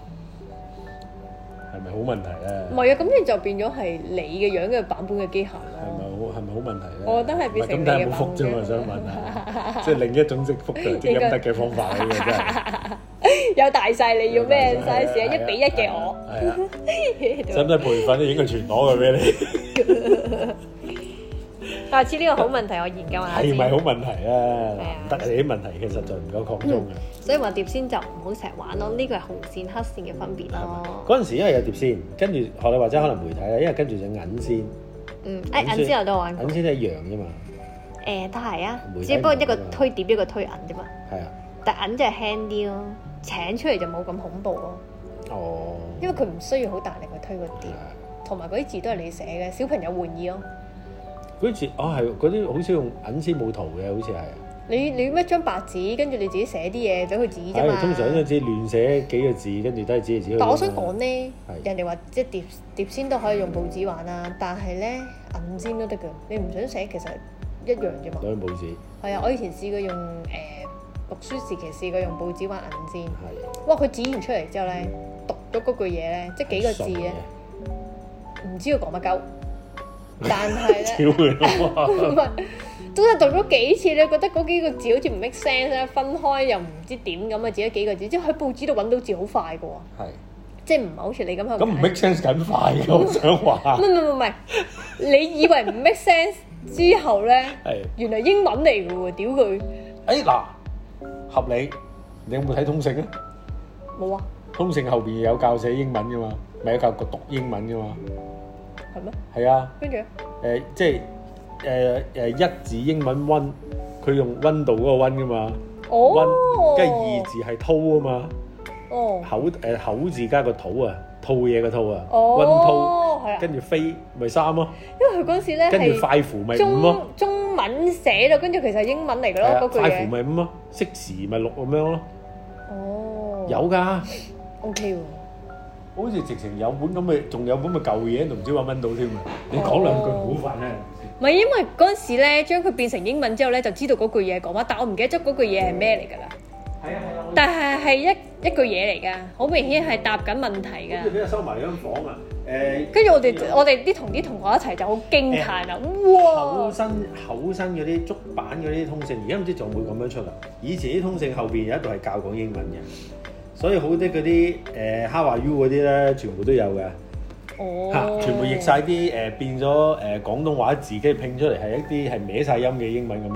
係咪好問題咧？唔係啊，咁你就變咗係你嘅樣嘅版本嘅機械咯。係咪好係咪好問題咧？我覺得係變成你嘅版本。咁但係冇福啫嘛，想問下，即係另一種積福嘅積陰德嘅方法嚟嘅真係。有大細你要咩 size 啊？一比一嘅我。係啊。使唔使培訓咧？影個全裸嘅俾你。下次呢個好問題，我研究下。係咪好問題啊？唔得，你啲問題其實就唔夠擴充嘅。所以話碟仙就唔好成日玩咯，呢個係紅線黑線嘅分別咯。嗰陣時因為有碟仙，跟住學你或者可能媒體啦，因為跟住就銀仙。嗯，誒銀仙我都玩過。銀仙都一樣啫嘛。誒都係啊，只不過一個推碟一個推銀啫嘛。係啊。但銀就係輕啲咯，請出嚟就冇咁恐怖咯。哦。因為佢唔需要好大力去推個碟，同埋嗰啲字都係你寫嘅，小朋友玩意咯。嗰啲字啊係，嗰啲好少用銀先冇圖嘅，好似係。你你咩張白紙，跟住你自己寫啲嘢俾佢指啫嘛。通常嗰陣時亂寫幾個字，跟住都係指嚟指去。但我想講咧，人哋話即係碟碟仙都可以用報紙玩啦，但係咧銀仙都得㗎。你唔想寫其實一樣啫嘛。攞報紙。係啊，我以前試過用誒、呃、讀書時期試過用報紙玩銀仙。係。哇！佢指完出嚟之後咧，讀咗嗰句嘢咧，即係幾個字咧，唔知佢講乜鳩。但係咧，唔係，都係讀咗幾次，你覺得嗰幾個字好似唔 make sense 咧，分開又唔知點咁啊，自己幾個字，即係喺報紙度揾到字好快嘅喎，係，即係唔係好似你咁樣咁唔 make sense 緊快嘅，我想話，唔唔唔唔係，你以為唔 make sense 之後咧，係，原來英文嚟嘅喎，屌佢！誒嗱，合理，你有冇睇通勝啊？冇啊，通勝後邊有教寫英文嘅嘛，咪有教讀英文嘅嘛。係咩？係啊，跟住誒，即係誒誒一字英文溫，佢用溫度嗰個溫噶嘛，溫，跟住二字係吐啊嘛，哦，口誒口字加個吐啊，吐嘢個吐啊，溫吐，係啊，跟住飛咪三咯，因為佢嗰時咧係跟住快符咪五咯，中文寫咯，跟住其實係英文嚟噶咯，嗰句嘢，快符咪五咯，識時咪六咁樣咯，哦，有噶 ，OK 喎。好似直情有本咁嘅，仲有本嘅舊嘢，都唔知揾唔揾到添啊！你講兩句好煩咧。唔係因為嗰陣時咧，將佢變成英文之後咧，就知道嗰句嘢講乜，但我唔記得咗嗰句嘢係咩嚟㗎啦。係啊係啊。但係係一一句嘢嚟㗎，好明顯係答緊問題㗎。跟住俾人收埋間房啊！誒。跟住我哋我哋啲同啲同學一齊就好驚歎啊！哇！厚身厚身嗰啲竹板嗰啲通勝，而家唔知仲會咁樣出啦。以前啲通勝後邊有一度係教講英文嘅。所以好啲嗰啲誒 How are you 嗰啲咧，全部都有嘅。哦，嚇，全部譯晒啲誒變咗誒廣東話自己拼出嚟係一啲係歪晒音嘅英文咁樣咯。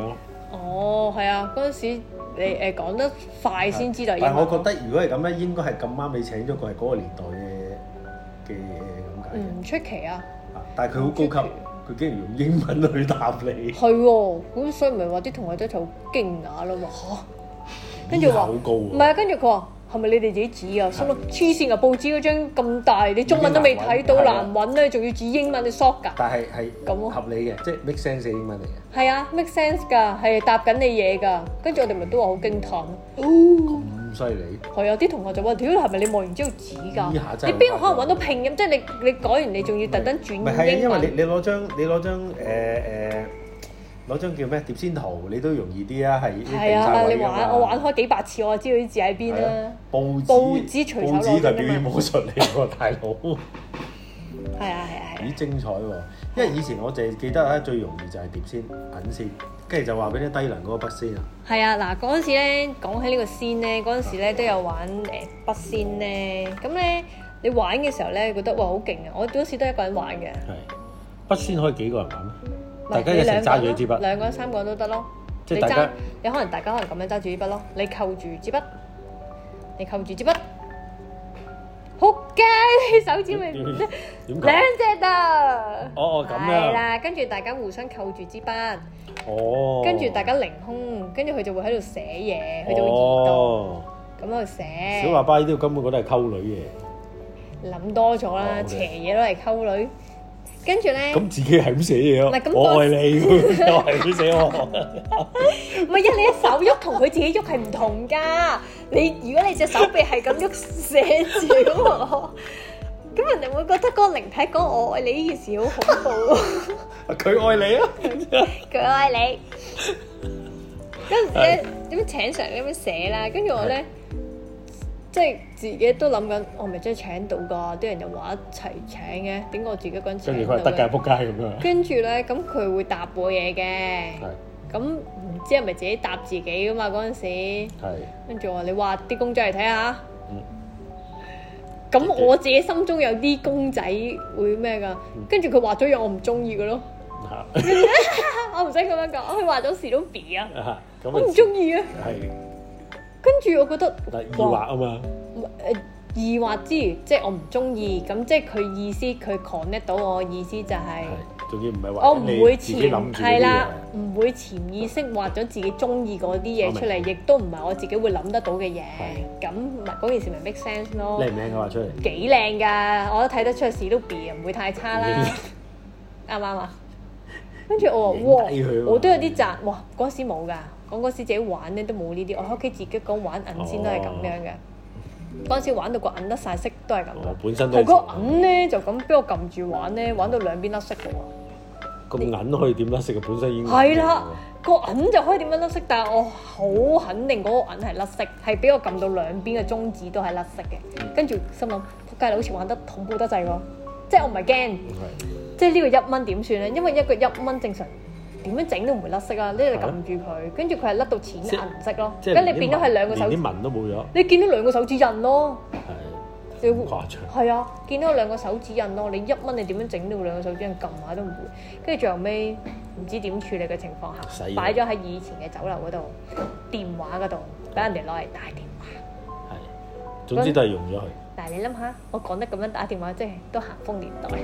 哦，係啊，嗰陣時你誒講得快先知道。 但係我覺得如果係咁咧，應該係咁啱你請咗個係嗰個年代嘅嘅嘢咁解。唔出奇啊！ 但係佢好高級，佢竟然用英文去答你。 係喎，咁所以咪話啲同學仔就好驚訝咯嘛嚇。跟住話好高唔係啊，跟住佢話。係咪你哋自己指啊？心諗黐線啊！報紙嗰張咁大，你中文都未睇到，難揾咧，仲要指英文，你 short 㗎？但係係咁合理嘅，即係 make sense 嘅英文嚟嘅。係啊 ，make sense 㗎，係答緊你嘢㗎。跟住我哋咪都話好驚歎。哦，咁犀利！係啊，啲同學就話：屌，係咪你望完之後指㗎？你邊個可能揾到拼音？即係你你改完，你仲要特登轉英文。唔係係因為你你攞張你攞張誒誒。攞張叫咩碟仙圖，你都容易啲啊，係係啊！你玩我玩開幾百次，我知道啲字喺邊啦。報紙報紙隨手攞嘅嘛。報紙就表演武術嚟喎，大佬。係啊係啊係。幾精彩喎！因為以前我淨係記得咧，最容易就係碟仙、銀仙，跟住就話俾啲低能嗰個筆仙啊。係啊，嗱嗰陣時咧，講起呢個仙咧，嗰陣時咧都有玩誒筆仙咧。咁咧你玩嘅時候咧，覺得哇好勁啊！我嗰時都一個人玩嘅。係筆仙可以幾個人玩咩？大家一齊揸住支筆，兩個人、三個人都得咯。即係大家，你可能大家可能咁樣揸住支筆咯。你扣住支筆，你扣住支筆，仆街！你手指咪兩隻啊！哦哦，咁樣。係啦，跟住大家互相扣住支筆。哦。跟住大家凌空，跟住佢就會喺度寫嘢，佢就會移動，咁喺度寫。小喇叭呢啲根本覺得係溝女嘅。諗多咗啦，邪嘢都係溝女。跟住咧，咁自己係咁寫嘢咯。我愛你，又係咁寫喎。唔係啊，你一手喐同佢自己喐係唔同㗎。你如果你隻手臂係咁喐寫字咁啊，咁人哋會覺得嗰個靈體講我愛你呢件事好恐怖。佢愛你啊！佢愛你。跟住咧點樣請上咁樣寫啦？跟住我咧。即係自己都諗緊，我咪真係請到㗎？啲人又話一齊請嘅，點解我自己一個人請到？跟住佢係得㗎，仆街咁樣。跟住咧，咁佢會答我嘢嘅。係。咁唔知係咪自己答自己㗎嘛？嗰陣時。係。跟住我話：你畫啲公仔嚟睇下。嗯。咁我自己心中有啲公仔會咩㗎？跟住佢畫咗樣我唔中意嘅咯。嚇！我唔使咁樣講，佢畫咗史努比啊。啊咁我唔中意啊。係。跟住我覺得易畫啊嘛，誒易畫之餘，即係我唔中意，咁即係佢意思，佢 connect 到我意思就係，仲要唔係話你自己諗住係啦，唔會潛意識畫咗自己中意嗰啲嘢出嚟，亦都唔係我自己會諗得到嘅嘢，咁咪嗰件事咪 make sense 咯。靚唔靚嘅畫出嚟？幾靚㗎，我都睇得出史努比唔會太差啦，啱唔啱啊？跟住我話哇，我都有啲賺，哇嗰時冇㗎。講嗰時自己玩咧都冇呢啲，我喺屋企自己講玩銀仙都係咁樣嘅。嗰陣時玩到個銀甩晒色都係咁嘅。本身都係。個銀咧就咁俾我撳住玩咧，玩到兩邊甩色嘅喎。個銀可以點甩色嘅？本身已經係啦，個銀就可以點樣甩色，但係我好肯定嗰個銀係甩色，係俾我撳到兩邊嘅中指都係甩色嘅。跟住心諗，仆街你好似玩得恐怖得滯喎！即係我唔係驚，即係呢個一蚊點算咧？因為一個一蚊正常。點樣整都唔會甩色啊！呢你撳住佢，跟住佢係甩到淺銀色咯。咁你變咗係兩個手指，連啲紋都冇咗。你見到兩個手指印咯。係。好誇張。係啊，見到兩個手指印咯。你一蚊你點樣整到兩個手指印撳下都唔會。跟住最後尾唔知點處理嘅情況下，擺咗喺以前嘅酒樓嗰度電話嗰度，俾人哋攞嚟打電話。係。總之都係用咗佢。但係你諗下，我講得咁樣打電話，即係都咸豐年代。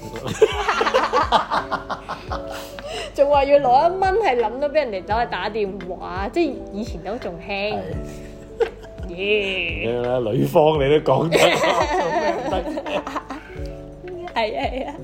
仲話要攞一蚊，係諗到俾人哋走去打電話，即係以前都仲興。耶！啦，女方你都講得，係啊係啊，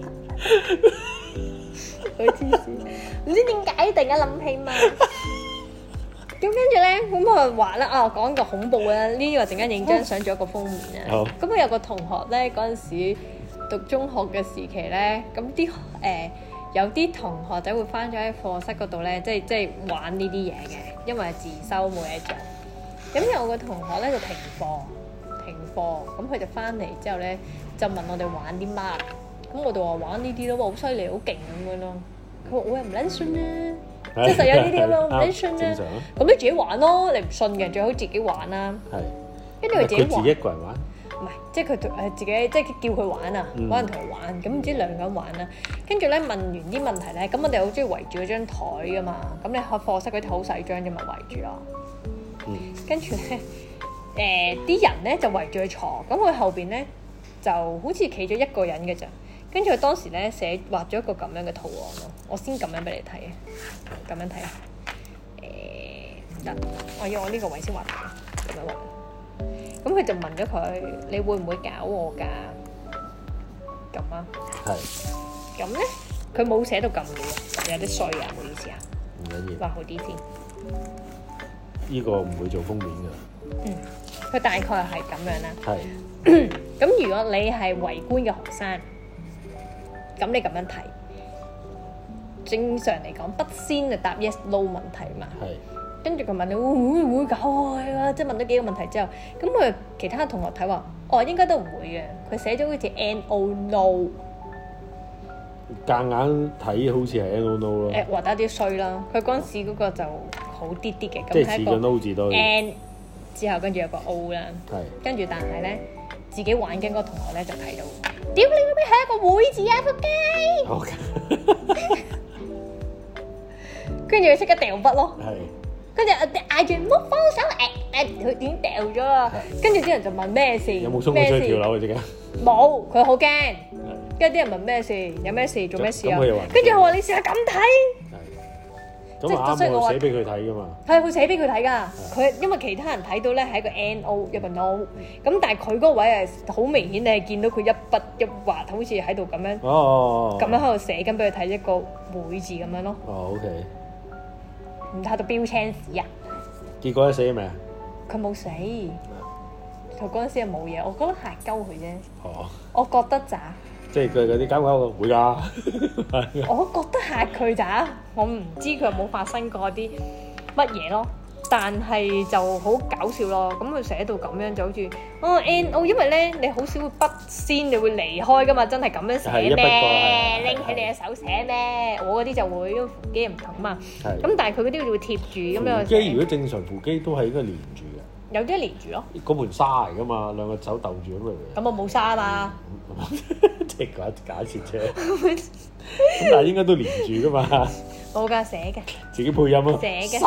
好黐線，唔知點解突然間諗起嘛。咁跟住咧，咁佢話咧啊，講個恐怖啊，呢個陣間影張相做一個封面啊。咁我有個同學咧，嗰陣時讀中學嘅時期咧，咁啲誒。有啲同學仔會翻咗喺課室嗰度咧，即係即係玩呢啲嘢嘅，因為自修冇嘢做。咁有個同學咧就停課，停課，咁佢就翻嚟之後咧就問我哋玩啲乜，咁我哋話玩呢啲咯，好犀利，好勁咁樣咯。佢話我又唔撚信啦，即係實有呢啲咁樣，我唔撚信啦。咁你自己玩咯，你唔信嘅最好自己玩啦。係。 跟住佢自己玩。 佢自己一個人玩？ 唔係，即係佢誒自己，即係叫佢玩啊，揾人同佢玩。咁唔知兩個人玩啦。跟住咧問完啲問題咧，咁我哋好中意圍住嗰張台噶嘛。咁你喺課室嗰啲好細張啫嘛，圍住咯。嗯。跟住咧，誒啲人咧就圍住佢坐，咁佢後邊咧就好似企咗一個人嘅咋。跟住佢當時咧寫畫咗一個咁樣嘅圖案咯，我先咁樣俾你睇啊，咁樣睇啊。誒得，我要我呢個位先畫嘅，咁樣畫。咁佢就問咗佢：你會唔會搞我㗎？咁啊，係。咁咧，佢冇寫到咁嘅，有啲衰啊，唔好意思啊。 唔緊要。 畫好啲先。 呢個唔會做封面㗎。 嗯，佢大概係咁樣啦。 係。 咁如果你係圍觀嘅學生，咁你咁樣睇，正常嚟講，不先就答 yes no 問題嘛。係。跟住佢問你會唔會搞我啊？即係問咗幾個問題之後，咁佢其他同學睇話，哦應該都唔會嘅。佢寫咗好似 no no， 夾硬睇好似係 no no 咯。誒畫得啲衰啦。佢嗰陣時嗰個就好啲啲嘅， 即係似個 no 字多。 N 之後跟住有個 O 啦。 係。跟住但係咧，自己玩緊嗰個同學咧就睇到，屌你嗰邊係一個會字啊！仆街。跟住佢即刻掉筆咯。係。跟住嗌住唔好放手，誒誒，佢點掉咗啊？跟住啲人就問咩事？ 有冇衝佢出去跳樓啊？即刻冇，佢好驚。跟住啲人問咩事？有咩事？做咩事啊？跟住佢話：你試下咁睇。係。咁啊啱喎，寫俾佢睇噶嘛。係，佢寫俾佢睇㗎。佢因為其他人睇到咧係一個 no 一個 no，咁但係佢嗰位係好明顯，你係見到佢一筆一畫，好似喺度咁樣。哦。咁樣喺度寫緊俾佢睇一個會字咁樣咯。 哦 ，OK。 唔睇到標青屎啊！ 結果死未啊？ 佢冇死，佢嗰陣時係冇嘢，我覺得嚇鳩佢啫。 哦， 我覺得咋？ 即係佢嗰啲搞搞會㗎。 我覺得嚇佢咋，我唔知佢有冇發生過啲乜嘢咯。但係就好搞笑咯，咁佢寫到咁樣就好似哦 no，因為咧你好少會筆先，你會離開噶嘛，真係咁樣寫咩？拎起你嘅手寫咩？我嗰啲就會，因為扶機唔同嘛。咁但係佢嗰啲會貼住咁樣。扶機如果正常扶機都係應該連住嘅。 有啲連住咯。嗰盤沙嚟噶嘛，兩個手鬥住咁樣。 咁我冇沙啊嘛。 即係假假設啫。咁但係應該都連住噶嘛。 冇㗎，寫嘅。 自己配音咯。 寫嘅。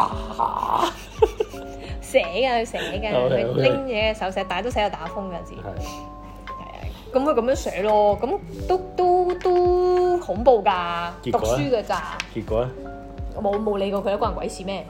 寫嘅，佢寫嘅，佢拎嘢嘅手寫，但係都寫到打風嗰陣時。係。係啊，咁佢咁樣寫咯，咁都都都恐怖㗎，讀書㗎咋。結果咧？我冇冇理過佢，關人鬼事咩？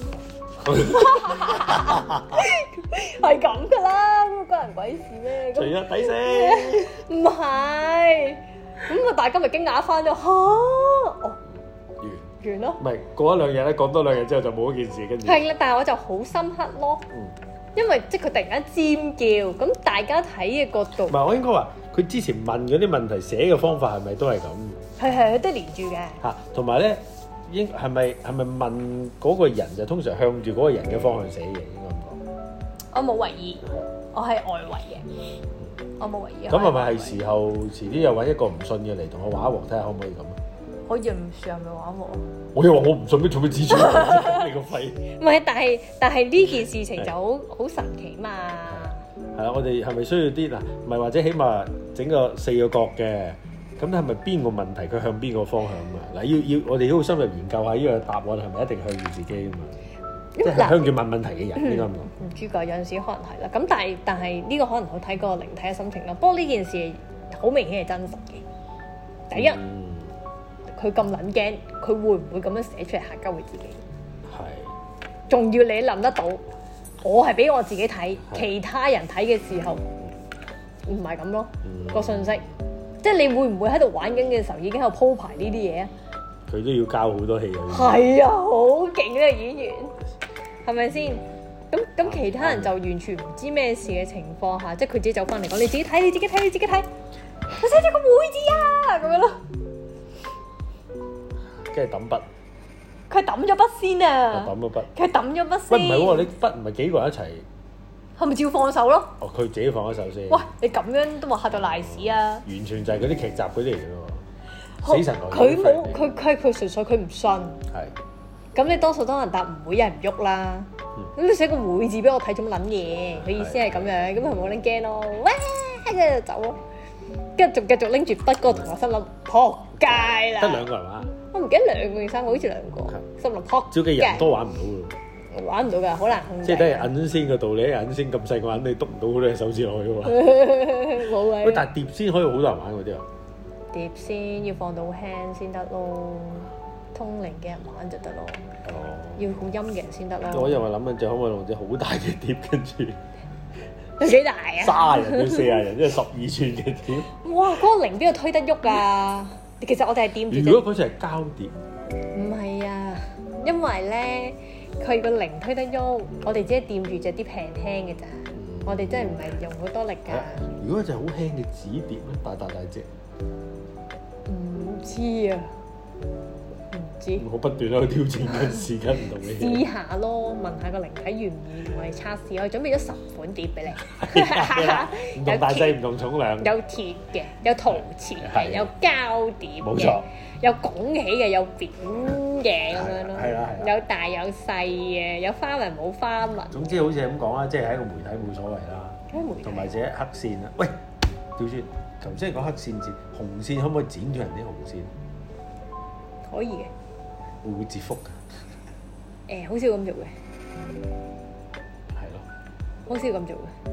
係咁㗎啦，關人鬼事咩？除咗抵死。唔係，咁啊大家咪驚訝翻咗嚇哦。完咯， 唔係過一兩日咧，講多兩日之後就冇一件事，跟住係啦，但係我就好深刻咯，嗯，因為即係佢突然間尖叫，咁大家睇嘅角度， 唔係我應該話佢之前問嗰啲問題寫嘅方法係咪都係咁？ 係係，佢都連住嘅嚇，同埋咧應係咪係咪問嗰個人就通常向住嗰個人嘅方向寫嘢應該咁講？ 我冇為意，我係外圍嘅，我冇為意。 咁係咪係時候遲啲又揾一個唔信嘅嚟同我畫一畫，睇下可唔可以咁？ 可以唔算係咪玩喎？ 我又話我唔信，咩做咩指出嚟？你個肺！ 唔係，但係但係呢件事情就好好神奇嘛。 係啊，我哋係咪需要啲嗱？唔係或者起碼整個四個角嘅，咁係咪邊個問題佢向邊個方向啊？嗱，要要我哋都好深入研究下呢個答案係咪一定向住自己啊嘛？即係向住問問題嘅人應該咁講。 唔知㗎，有陣時可能係啦。咁但係但係呢個可能好睇個靈體嘅心情咯。不過呢件事好明顯係真實嘅。第一。佢咁撚驚，佢會唔會咁樣寫出嚟嚇鳩佢自己？係。仲要你諗得到，我係俾我自己睇，其他人睇嘅時候唔係咁咯。個信息，即係你會唔會喺度玩緊嘅時候已經喺度鋪排呢啲嘢啊？ 佢都要交好多戲啊！ 係啊，好勁呢個演員，係咪先？咁咁其他人就完全唔知咩事嘅情況下，即係佢自己走翻嚟講：你自己睇，你自己睇，你自己睇，我寫咗個會字啊！咁樣咯。 跟住抌筆， 佢抌咗筆先啊！ 抌咗筆， 佢抌咗筆先。 喂，唔係喎，你筆唔係幾個人一齊？ 係咪照放手咯？ 哦，佢自己放咗手先。 喂，你咁樣都話嚇到賴屎啊！ 完全就係嗰啲劇集嗰啲嚟嘅喎，死神來了。 佢冇，佢佢佢純粹佢唔信。 係。 咁你多數多人答唔會有人喐啦。 咁你寫個會字俾我睇，做乜撚嘢？佢意思係咁樣，咁佢冇撚驚咯，哇！跟住就走咯，跟住仲繼續拎住筆嗰個同學心諗撲街啦！ 得兩個人玩？ 我唔記得兩個定三個，好似兩個。心諗撲街。 照計人多玩唔到㗎喎， 玩唔到㗎，好難控制。 即係等於銀仙嘅道理，銀仙咁細個人，你篤唔到嗰隻手指落去㗎嘛。 冇嘅。 喂，但係碟仙可以好多人玩嗰啲啊？ 碟仙要放到輕先得咯，通靈嘅人玩就得咯。哦。要好陰嘅人先得咯。 我又話諗緊，就可唔可以用隻好大嘅碟，跟住有幾大啊？ 卅人到四十人，即係十二寸嘅碟。 哇！嗰、那個靈邊度推得喐啊？其實我哋係掂住。 如果嗰隻係膠碟， 唔係啊，因為咧佢個靈推得喐，我哋只係掂住隻碟輕輕嘅咋。嗯、我哋真係唔係用好多力㗎。 如果一隻好輕嘅紙碟咧，大大大隻， 唔知啊。 我不斷喺度挑戰緊時間唔同嘅嘢。 試下咯，問下個靈體願唔願意同我哋測試。我準備咗十款碟俾你， 唔同大細、唔同重量， 有鐵嘅，有陶瓷嘅，有膠碟嘅，冇錯，有拱起嘅，有扁嘅咁樣咯。係啦係啦，有大有細嘅，有花紋冇花紋。總之好似係咁講啦，即係喺個媒體冇所謂啦。同埋隻黑線啦，喂，調轉頭先講黑線字，紅線可唔可以剪咗人啲紅線？ 可以嘅。 會唔會折福㗎？ 誒、欸，好少咁做嘅。 係咯。 好少咁做嘅。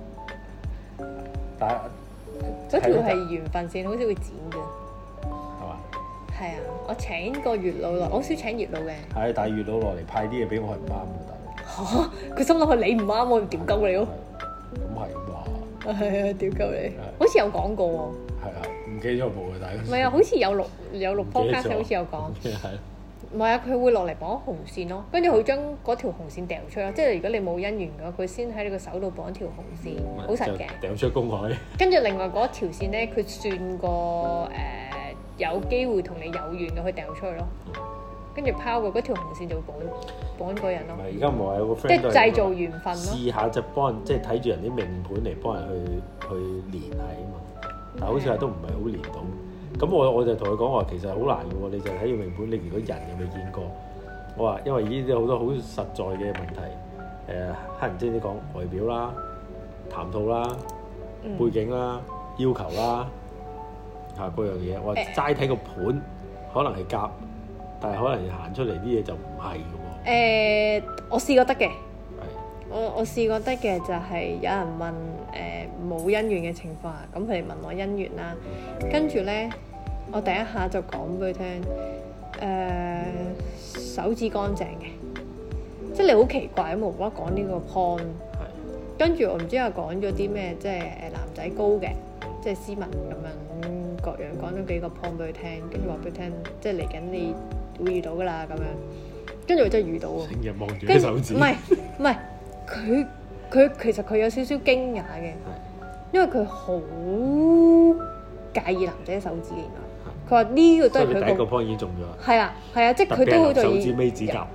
但係嗰條係緣分線，好少會剪嘅。 係嘛？ 係啊，我請個月老落，我好少請月老嘅。 係，但係月老落嚟派啲嘢俾我係唔啱嘅，大佬。 嚇！佢心諗係你唔啱，我屌鳩你咯。 咁係啩？ 係啊，屌鳩你。好似有講過喎。係啊，唔記得咗冇啊，大家。 唔係啊，好似有錄有錄 podcast，好似有講。 係。 唔係啊，佢會落嚟綁紅線咯，跟住佢將嗰條紅線掉出咯，即係如果你冇姻緣嘅話，佢先喺你個手度綁條紅線，好實嘅。掉出公海。跟住另外嗰條線咧，佢算個誒、呃、有機會同你有緣嘅，佢掉出去咯。跟住拋過嗰條紅線就會綁綁個人咯。唔係，而家唔係有個 friend 即係製造緣分咯。試下就幫人，即係睇住人啲命盤嚟幫人去去連係啊嘛，但係好似話都唔係好連到。咁我我就同佢講話，其實好難嘅喎，你就睇住命盤，你如果人又未見過，我話因為呢啲好多好實在嘅問題，誒黑人精啲講外表啦、談吐啦、嗯、背景啦、要求啦，嚇嗰樣嘢，我話齋睇個盤可能係夾，但係可能行出嚟啲嘢就唔係嘅喎。誒，我試過得嘅，我我試過得嘅就係有人問誒冇姻緣嘅情況下，咁佢哋問我姻緣啦，跟住咧我第一下就講俾佢聽，誒、呃、手指乾淨嘅，即係你好奇怪咁無啦啦講呢個 point，跟住我唔知係講咗啲咩，即係誒男仔高嘅，即係斯文咁樣各樣講咗幾個 point 俾佢聽，跟住話俾佢聽，即係嚟緊你會遇到㗎啦咁樣，跟住我真係遇到喎，成日望住啲手指，唔係唔係。佢佢其實佢有少少驚訝嘅，因為佢好介意男仔手指嘅。原來佢話呢個都係佢個第一個 point 已經中咗。係啊係啊，即係佢都好在意手指尾指甲。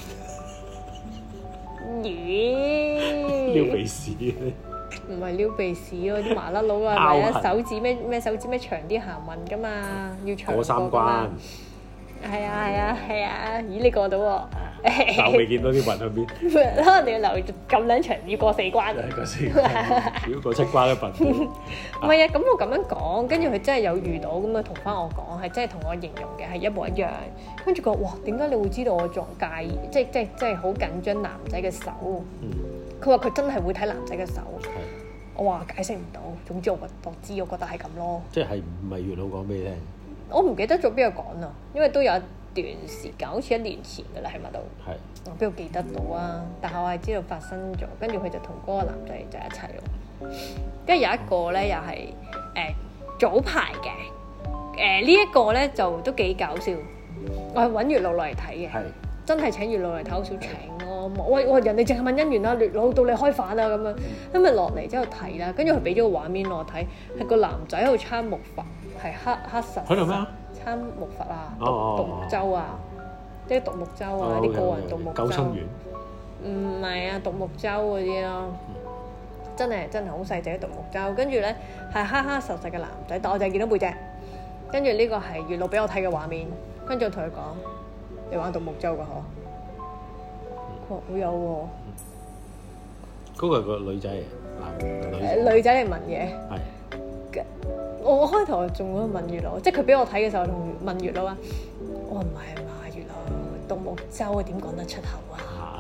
咦？撩鼻屎？唔係撩鼻屎咯，啲麻甩佬啊，係啊，手指咩咩手指咩長啲行運㗎嘛，要長過三關。係啊係啊係啊！咦你過到喎？但我未見到啲雲喺邊。可能你要留咁撚長，要過四關。過四關，要過七關一份。唔係啊，咁我咁樣講，跟住佢真係有遇到咁啊，同翻我講，係真係同我形容嘅係一模一樣。跟住佢話：哇，點解你會知道我仲介意？即係即係即係好緊張男仔嘅手。佢話佢真係會睇男仔嘅手。我話解釋唔到，總之我我知，我覺得係咁咯。即係唔係月老講俾你聽？我唔記得咗邊個講啊，因為都有一段時間，好似一年前㗎啦，喺咪度？係。我邊度記得到啊？但係我係知道發生咗，跟住佢就同嗰個男仔就一齊咯。跟住有一個咧，又係誒早排嘅，誒呢一個咧就都幾搞笑。我係揾月老落嚟睇嘅，係真係請月老嚟睇，好少請咯。喂喂，人哋淨係問姻緣啦，月老到你開飯啊咁樣，咁咪落嚟之後睇啦。跟住佢俾咗個畫面我睇，係個男仔喺度參木筏。係黑黑實喺度咩啊？參木筏啊，獨獨木舟啊，即係獨木舟啊，啲個人獨木舟。救生員？唔係啊，獨木舟嗰啲咯，真係真係好細隻嘅獨木舟。跟住咧係黑黑實實嘅男仔，但我就係見到背脊。跟住呢個係月老俾我睇嘅畫面，跟住我同佢講：你玩獨木舟㗎嗬？ 我我有喎。 嗰個係個女仔嚟，男女女仔嚟問嘅。 係。 我我開頭仲喺度問月老，即係佢俾我睇嘅時候，同問月老啊。我話唔係嘛，月老獨木舟點講得出口啊？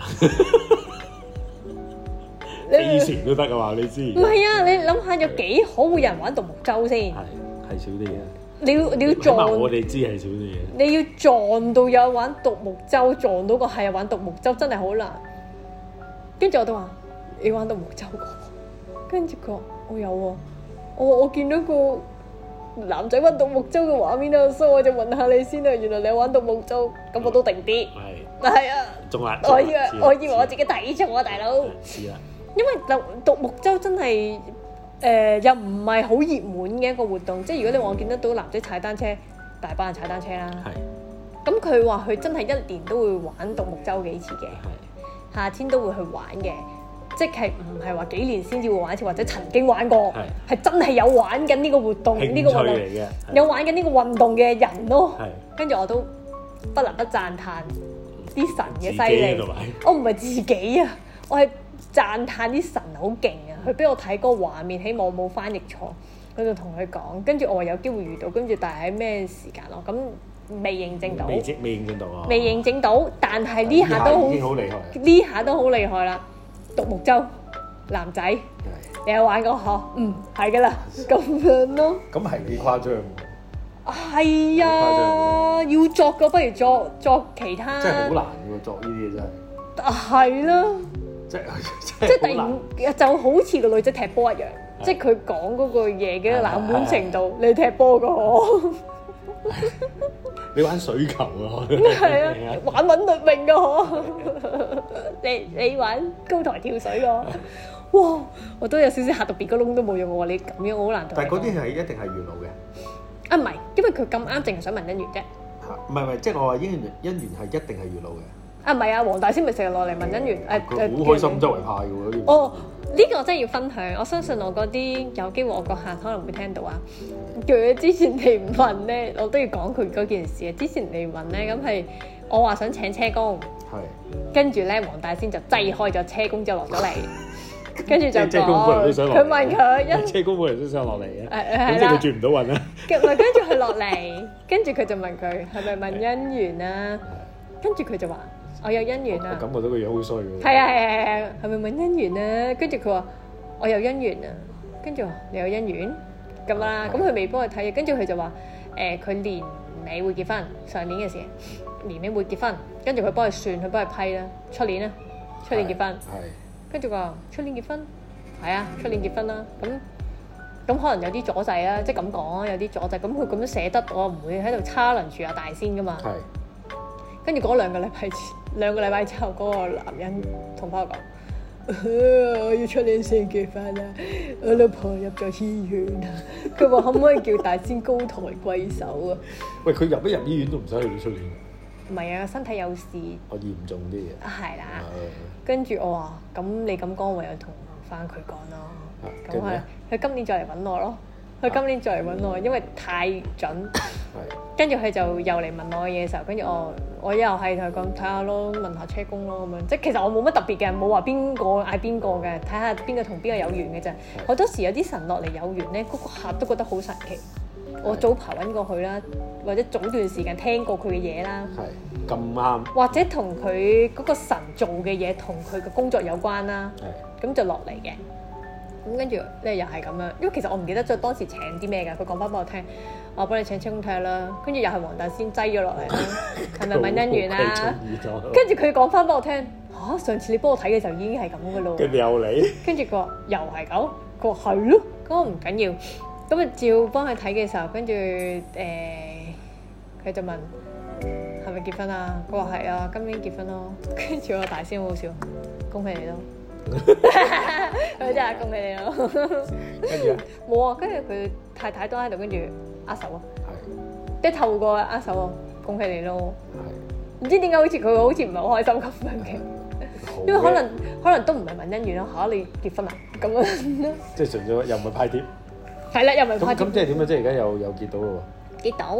飛船都得啊嘛，你知？ 唔係啊，你諗下有幾可會有人玩獨木舟先？ 係係少啲嘅。 你要你要撞， 我哋知係少啲嘢。 你要撞到有玩獨木舟，撞到個係玩獨木舟，真係好難。跟住我都話：你玩獨木舟過？跟住佢話：我有喎、啊。我我見到個男仔玩獨木舟嘅畫面啊，所以我就問下你先啊。原來你玩獨木舟，咁我都定啲。係。但係啊， 仲難。 我以為我以為我自己睇錯啊，大佬。 是啊。 因為獨獨木舟真係。誒、呃、又唔係好熱門嘅一個活動，即係如果你話我見得到男仔踩單車，大班人踩單車啦。係。咁佢話佢真係一年都會玩獨木舟幾次嘅。係。夏天都會去玩嘅，即係唔係話幾年先至會玩一次，或者曾經玩過，係係真係有玩緊呢個活動，呢個運動有玩緊呢個運動嘅人咯。係。跟住我都不能不讚歎啲神嘅犀利。我唔係自己啊，我係讚歎啲神好勁啊！佢俾我睇嗰個畫面，希望我冇翻譯錯。佢就同佢講，跟住我話有機會遇到，跟住但係喺咩時間咯？咁未認證到， 未未認證到啊！ 未認證到，但係呢下都好，呢下都好厲害啦！獨木舟男仔，你有玩過嗬？嗯，係噶啦，咁樣咯。咁係幾誇張？係啊，要作個不如作作其他。真係好難喎，作呢啲嘢真係。係啦。即係即係突然就好似個女仔踢波一樣，即係佢講嗰個嘢嘅冷門程度，你踢波個我，你玩水球啊？係啊，玩韻律泳個我，你你玩高台跳水個，哇！我都有少少嚇到別個窿都冇用喎，你咁樣我好難同。但係嗰啲係一定係月老嘅。啊唔係，因為佢咁啱淨係想問姻緣啫。唔係唔係，即係我話姻緣姻緣係一定係月老嘅。啊唔係啊，黃大仙咪成日落嚟問姻緣，誒誒好開心周圍派嘅喎。哦，呢個真係要分享。我相信我嗰啲有機會我個客可能會聽到啊。叫佢之前嚟問咧，我都要講佢嗰件事啊。之前嚟問咧，咁係我話想請車工，係跟住咧黃大仙就擠開咗車工之後落咗嚟，跟住就講佢問佢一車工冇人都想落嚟嘅，咁即係佢轉唔到運啦。跟住佢落嚟，跟住佢就問佢係咪問姻緣啊？跟住佢就話。我有姻緣啊！我感覺到個樣好衰喎。係啊係啊係啊，係咪問姻緣啊？跟住佢話我有姻緣啊，跟住話你有姻緣咁啦，咁佢未幫佢睇嘅，跟住佢就話誒佢年尾會結婚，上年嘅事，年尾會結婚，跟住佢幫佢算，佢幫佢批啦，出年啦，出年結婚。係。跟住佢話出年結婚，係啊，出年結婚啦，咁咁可能有啲阻滯啦，即係咁講啊，有啲阻滯，咁佢咁樣捨得，我唔會喺度叉輪住阿大仙噶嘛。係。跟住嗰兩個禮拜前，兩個禮拜之後，嗰個男人同翻我講：我要出年先結婚啦，我老婆入咗醫院啊！佢話可唔可以叫大仙高抬貴手啊？喂，佢入一入醫院都唔使去到出年。唔係啊，身體有事。我嚴重啲嘅。係啦。跟住我話：咁你咁講，唯有同翻佢講咯。咁係，佢今年再嚟揾我咯。佢今年再嚟揾我，因為太準。跟住佢就又嚟問我嘅嘢嘅時候，跟住我我又係同佢講睇下咯，問下車工咯咁樣。即係其實我冇乜特別嘅，冇話邊個嗌邊個嘅，睇下邊個同邊個有緣嘅啫。好多時有啲神落嚟有緣咧，嗰個客都覺得好神奇。我早排揾過佢啦，或者早段時間聽過佢嘅嘢啦。係咁啱。或者同佢嗰個神做嘅嘢同佢嘅工作有關啦。係。咁就落嚟嘅。咁跟住咧又係咁樣，因為其實我唔記得咗當時請啲咩㗎，佢講翻俾我聽，我幫你請車工睇下啦。跟住又係黃大仙擠咗落嚟啦，係咪問姻緣啊？跟住佢講翻俾我聽，嚇、啊、上次你幫我睇嘅時候已經係咁嘅咯。跟住又嚟，跟住佢話又係咁，佢話係咯，咁我唔緊要，咁啊照幫佢睇嘅時候，跟住誒佢就問係咪結婚啊？佢話係啊，今年結婚咯。跟住我大仙好好笑，恭喜你咯！佢真係恭喜你咯！跟住冇啊，跟住佢太太都喺度，跟住握手啊，即係透過握手啊，恭喜你咯！唔知點解好似佢好似唔係好開心咁樣嘅，因為可能可能都唔係問姻緣咯嚇，你結婚啊咁樣，即係純粹又唔係派帖，係啦，又唔係派帖。咁咁即係點啊？即係而家又又結到咯喎！結到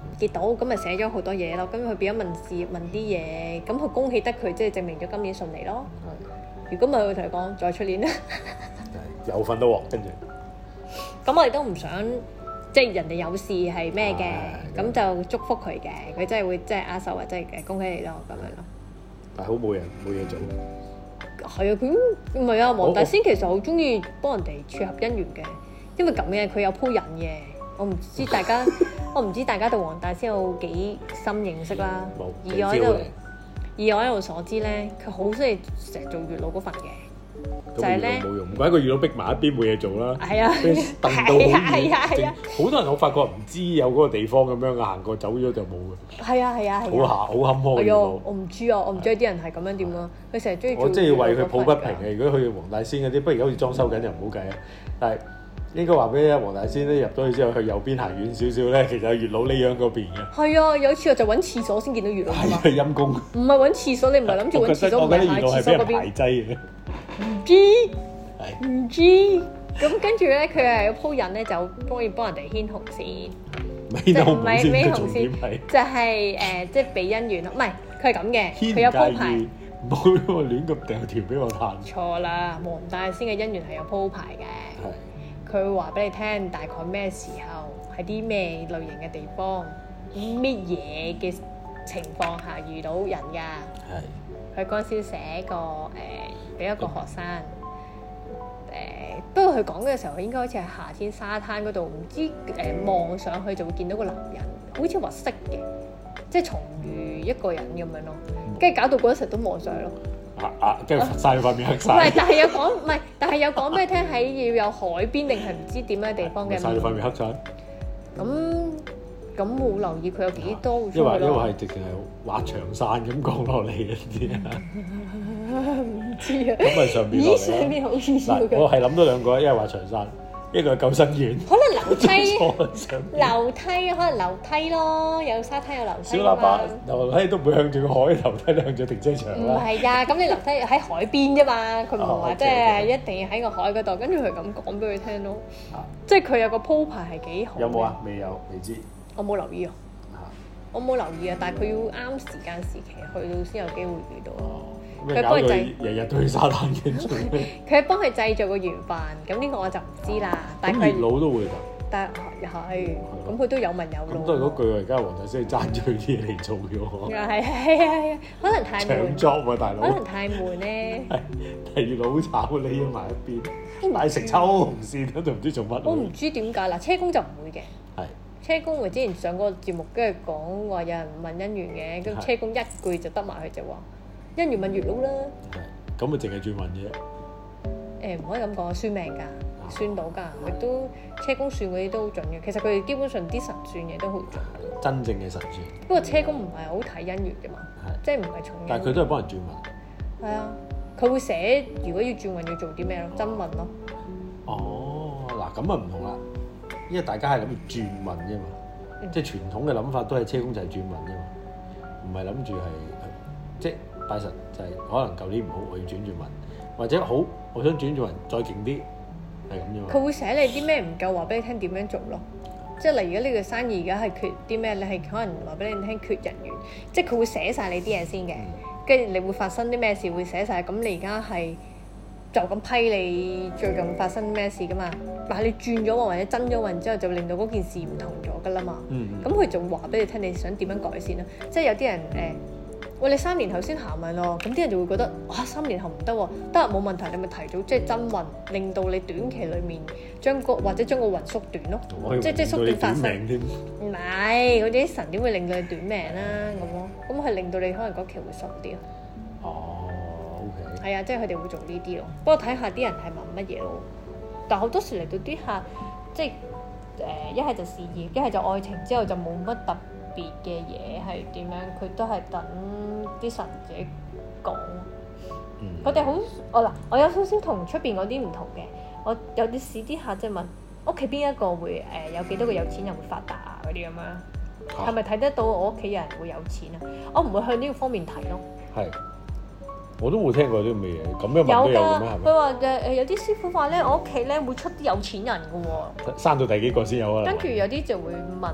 結到，咁咪寫咗好多嘢咯。咁佢變咗問事問啲嘢，咁佢恭喜得佢，即係證明咗今年順利咯。如果唔係，佢同佢講再出年啦。 有份都喎，跟住。咁我哋都唔想，即係人哋有事係咩嘅，咁就祝福佢嘅。佢真係會即係握手或者係恭喜你咯，咁樣咯。但係好冇人冇嘢做。係啊，佢唔係啊，黃大仙其實好中意幫人哋撮合姻緣嘅，因為咁嘅佢有鋪引嘅。我唔知大家，我唔知大家對黃大仙有幾深認識啦。冇。而我喺度，而我喺度所知咧，佢好中意成日做月老嗰份嘅，就係咧冇用，唔怪個月老逼埋一邊冇嘢做啦。係啊，燉到好遠，好多人我發覺唔知有嗰個地方咁樣行過走咗就冇嘅。係啊係啊係啊，好下好坎坷嘅月老。我唔知啊，我唔知啲人係咁樣點咯。佢成日中意做。我真係為佢抱不平嘅。如果去黃大仙嗰啲，不如而家好似裝修緊又唔好計啊。但係應該話俾你聽，黃大仙咧入咗去之後，去右邊行遠少少咧，其實有月老呢樣嗰邊嘅。係啊，有次我就揾廁所先見到月老啊嘛。係陰公。唔係揾廁所，你唔係諗住揾廁所，唔係喺廁所嗰邊。排擠嘅。唔知。係。唔知。咁跟住咧，佢係有鋪引咧，就幫要幫人哋牽紅線。即係唔係孭紅線？就係誒，即係俾姻緣咯。唔係，佢係咁嘅，佢有鋪排。唔好亂咁掉條俾我彈。錯啦，黃大仙嘅姻緣係有鋪排嘅。係。佢會話俾你聽，大概咩時候，喺啲咩類型嘅地方，乜嘢嘅情況下遇到人㗎？係。佢嗰陣時寫個誒，俾、呃、一個學生誒、呃，不過佢講嘅時候，應該好似係夏天沙灘嗰度，唔知誒望、呃、上去就會見到個男人，好似話識嘅，即係重遇一個人咁樣咯，跟住搞到嗰時都望上去咯。啊啊！跟住曬塊面黑曬。唔係，但係有講，唔係，但係有講俾你聽，喺要有海邊定係唔知點樣地方嘅。曬塊面黑曬。咁咁冇留意佢有幾多？因為因為係直情係滑長傘咁降落嚟嘅啲啊。唔知啊。咁咪上邊落嚟。咦？上邊好似嗱，我係諗到兩個，一係滑長傘。一個係救生員，可能樓梯，樓梯可能樓梯咯，有沙灘有樓梯。小喇叭樓梯都唔會向住個海，樓梯都向住停車場啦。唔係㗎，咁你樓梯喺海邊啫嘛，佢唔係話即係一定要喺個海嗰度。跟住佢咁講俾佢聽咯，即係佢有個鋪排係幾好。有冇啊？未有，未知。我冇留意啊，我冇留意啊，但係佢要啱時間時期去到先有機會遇到。佢幫佢製，日日都去沙灘嘅。佢係幫佢製造個緣分，咁呢個我就唔知啦。但係月老都會㗎。但係係，咁佢都有問有路。咁都係嗰句，而家黃大仙爭咗佢啲嘢嚟做嘅喎。係係係係，可能太悶。搶 job 喎，大佬。可能太悶咧。係，係月老好炒，匿咗埋一邊。但係食抽紅線喺度唔知做乜。我唔知點解嗱，車公就唔會嘅。係。車公我之前上過節目，跟住講話有人問姻緣嘅，咁車公一句就得埋佢就話。姻緣問月老啦，咁咪淨係轉運嘅？誒唔可以咁講，算命㗎，算到㗎，亦都車公算嗰啲都好準嘅。其實佢哋基本上啲神算嘢都好準。真正嘅神算。不過車公唔係好睇姻緣嘅嘛，即係唔係重。但係佢都係幫人轉運。係啊，佢會寫如果要轉運要做啲咩咯？真運咯。哦，嗱咁啊唔同啦，因為大家係諗住轉運啫嘛，即係傳統嘅諗法都係車公就係轉運啫嘛，唔係諗住係即係。拜神就係可能舊年唔好，我要轉轉運，或者好，我想轉轉運再勁啲，係咁樣。佢會寫你啲咩唔夠，話俾你聽點樣做咯。即係例如，如果呢個生意而家係缺啲咩，你係可能話俾你聽缺人員，即係佢會寫晒你啲嘢先嘅，跟住、嗯、你會發生啲咩事會寫晒。咁你而家係就咁批你最近發生咩事噶嘛？但係你轉咗運或者增咗運之後，就令到嗰件事唔同咗噶啦嘛。咁佢、嗯嗯、就話俾你聽，你想點樣改善啦？即係有啲人誒。呃喂，你三年後先行運咯，咁啲人就會覺得哇，三年後唔得喎，得冇問題，你咪提早即係增運，令到你短期裡面將個或者將個運縮短咯，即係即係縮短發生。唔係，嗰啲神點會令到你短命啦咁咯？咁係令到你可能嗰期會順啲咯。哦 ，OK。係啊，即係佢哋會做呢啲咯。不過睇下啲人係問乜嘢咯。但係好多時嚟到啲客，即係誒一係就事業，一係就愛情，之後就冇乜特別嘅嘢係點樣，佢都係等啲神自己講。佢哋好，我嗱，我有少少同出邊嗰啲唔同嘅。我有啲試啲客即係問屋企邊一個會誒、呃、有幾多個有錢人會發達啊嗰啲咁樣，係咪睇得到我屋企人會有錢啊？我唔會向呢個方面睇咯。係，我都冇聽過啲咁嘅嘢，咁樣問都有嘅咩？係咪？佢話誒誒有啲師傅話咧，我屋企咧會出啲有錢人嘅喎。生到第幾個先有啊？跟住有啲就會問誒。呃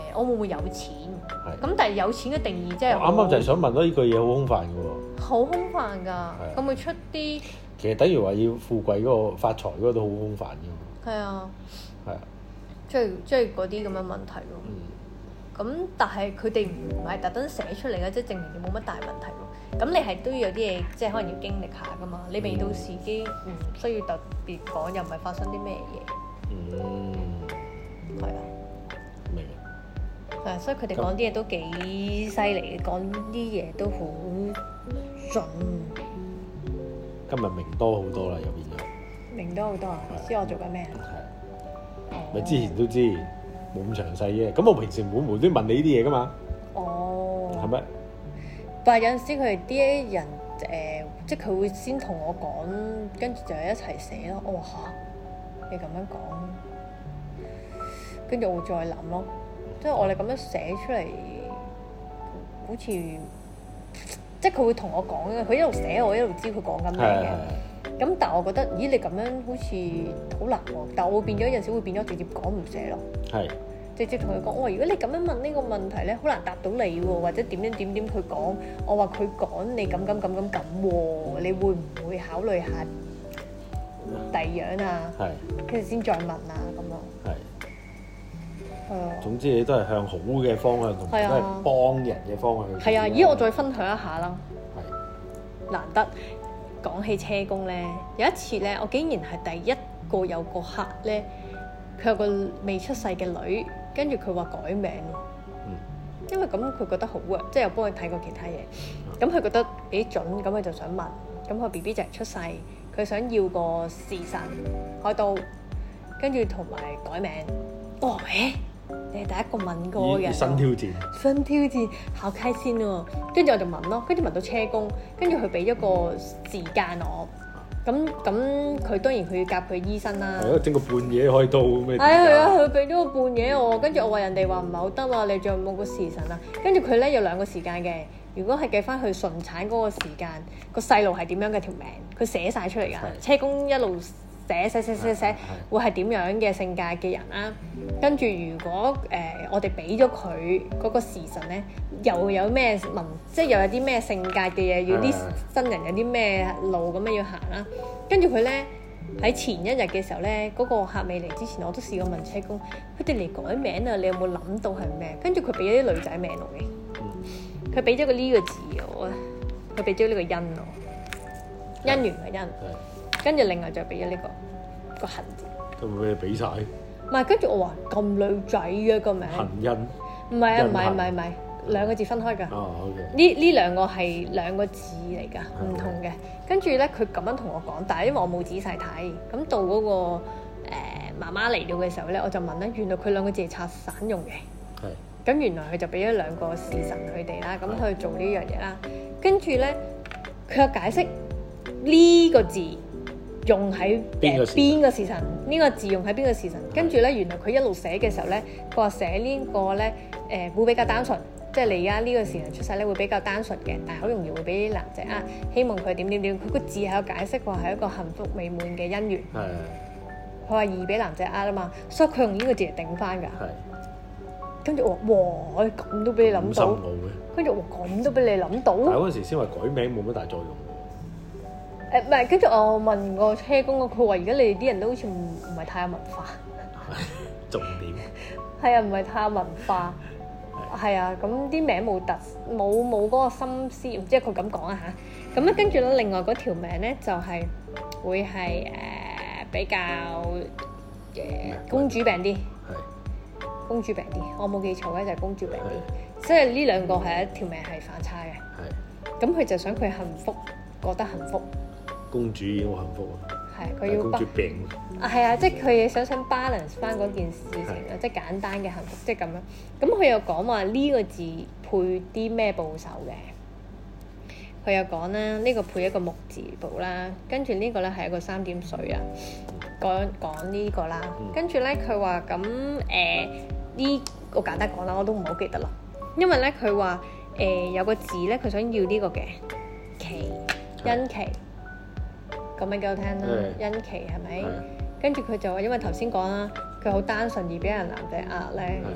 我會唔會有錢？咁但係有錢嘅定義即係啱啱就係想問咯，呢句嘢好空泛嘅喎。 好空泛㗎，咁會出啲其實等於話要富貴嗰個發財嗰個都好空泛嘅。 係啊， 係啊， 即係即係嗰啲咁嘅問題咯。咁、嗯、但係佢哋唔係特登寫出嚟嘅，即係證明你冇乜大問題咯。咁你係都要有啲嘢，即係可能要經歷下㗎嘛。你未到時機唔需要特別講，又唔係發生啲咩嘢。嗯，係啊， 明。 係，所以佢哋講啲嘢都幾犀利嘅，講啲嘢都好準。 今日明多好多啦，又變咗。明多好多啊！知我做緊咩啊？ 係。咪之前都知，冇咁詳細嘅。咁我平時冇無端問你呢啲嘢㗎嘛？哦。係咪？ 但係有陣時佢哋啲人誒、呃，即係佢會先同我講，跟住就一齊寫咯。我話嚇，你咁樣講，跟住我會再諗咯。即係我哋咁樣寫出嚟，好似即係佢會同我講嘅。佢一路寫，我一路知佢講緊咩嘅。咁但係我覺得，咦？你咁樣好似好難喎。但係我會變咗有陣時會變咗直接講唔寫咯。係。直接同佢講，我話如果你咁樣問呢個問題咧，好難答到你喎，或者點樣點點佢講，我話佢講你咁咁咁咁咁喎，你會唔會考慮下第二樣啊？係。跟住先再問啊，咁咯。係。係啊。總之你都係向好嘅方向，同埋都係幫人嘅方向去。係啊，咦？我再分享一下啦。係。難得講起車工咧，有一次咧，我竟然係第一個有個客咧，佢有個未出世嘅女。跟住佢話改名喎，嗯、因為咁佢覺得好啊，即係又幫佢睇過其他嘢，咁佢、嗯、覺得幾準，咁佢就想問，咁個 B B 就係出世，佢想要個時辰開刀，跟住同埋改名。哦，誒，你係第一個問過嘅人，新挑戰，新挑戰，好開心喎！跟住我就問咯，跟住問到車工，跟住佢俾咗個時間我。咁咁佢當然佢要夾佢醫生啦。係啊，整個半夜開刀咩？係啊係啊，佢俾咗個半夜我，跟住我話人哋話唔係好得啊，你仲有冇個時辰啊？跟住佢咧有兩個時間嘅，如果係計翻佢順產嗰個時間，個細路係點樣嘅條命，佢寫晒出嚟㗎。車工一路寫寫寫寫寫，會係點樣嘅性格嘅人啦？跟住如果誒、呃、我哋俾咗佢嗰個時辰咧，又有咩文，即係又有啲咩性格嘅嘢，要啲新人有啲咩路咁樣要行啦。跟住佢咧喺前一日嘅時候咧，嗰、嗰個客未嚟之前，我都試過問車工，佢哋嚟改名啊，你有冇諗到係咩？跟住佢俾咗啲女仔名落嘅，佢俾咗個呢個字我，佢俾咗呢個姻我，姻緣嘅姻。跟住另外就俾咗呢個個恨字，咁咪俾你俾曬？唔係，跟住我話咁女仔嘅個名，恨恩，唔係啊，唔係唔係唔係兩個字分開㗎。哦，OK。呢呢兩個係兩個字嚟㗎，唔同嘅。跟住咧，佢咁樣同我講，但係因為我冇仔細睇，咁到嗰個誒媽媽嚟到嘅時候咧，我就問咧，原來佢兩個字係拆散用嘅。係。咁原來佢就俾咗兩個時辰佢哋啦，咁去做呢樣嘢啦。跟住咧，佢有解釋呢個字用喺誒邊個時辰？呢個字用喺邊個時辰？跟住咧，原來佢一路寫嘅時候咧，佢話寫呢個咧誒會比較單純，即係你而家呢個時辰出世咧會比較單純嘅，但係好容易會俾啲男仔啊，希望佢點點點。佢個字係有解釋話係一個幸福美滿嘅姻緣。係。佢話易俾男仔呃啊嘛，所以佢用呢個字嚟頂翻㗎。係。跟住我話：哇！咁都俾你諗到。跟住我咁都俾你諗到。但係嗰陣時先話改名冇乜大作用。誒唔係，跟住我問個車工，佢話而家你哋啲人都好似唔唔係太有文化。重點。係啊，唔係太有文化。係啊，咁啲名冇特冇冇嗰個心思，唔知佢咁講啊嚇。咁咧跟住咧，另外嗰條名咧就係、是、會係誒、呃、比較誒、呃、公主病啲。係。公主病啲，我冇記錯咧就係公主病啲。即係呢兩個係一條名係反差嘅。係。咁佢就想佢幸福，覺得幸福。公主已經好幸福啊！係佢要公主病啊，係啊，即係佢想想 balance 翻嗰件事情啊，即係簡單嘅幸福，即係咁樣。咁佢又講話呢個字配啲咩部首嘅？佢又講啦，呢個配一個木字部啦，跟住呢個咧係一個三點水啊。講講呢個啦，跟住咧佢話咁誒呢個簡單講啦，我都唔好記得啦，因為咧佢話誒有個字咧，佢想要呢個嘅期殷期。咁樣幾好聽啦，殷期係咪？跟住佢就話，因為頭先講啦，佢好單純而俾人男仔呃咧，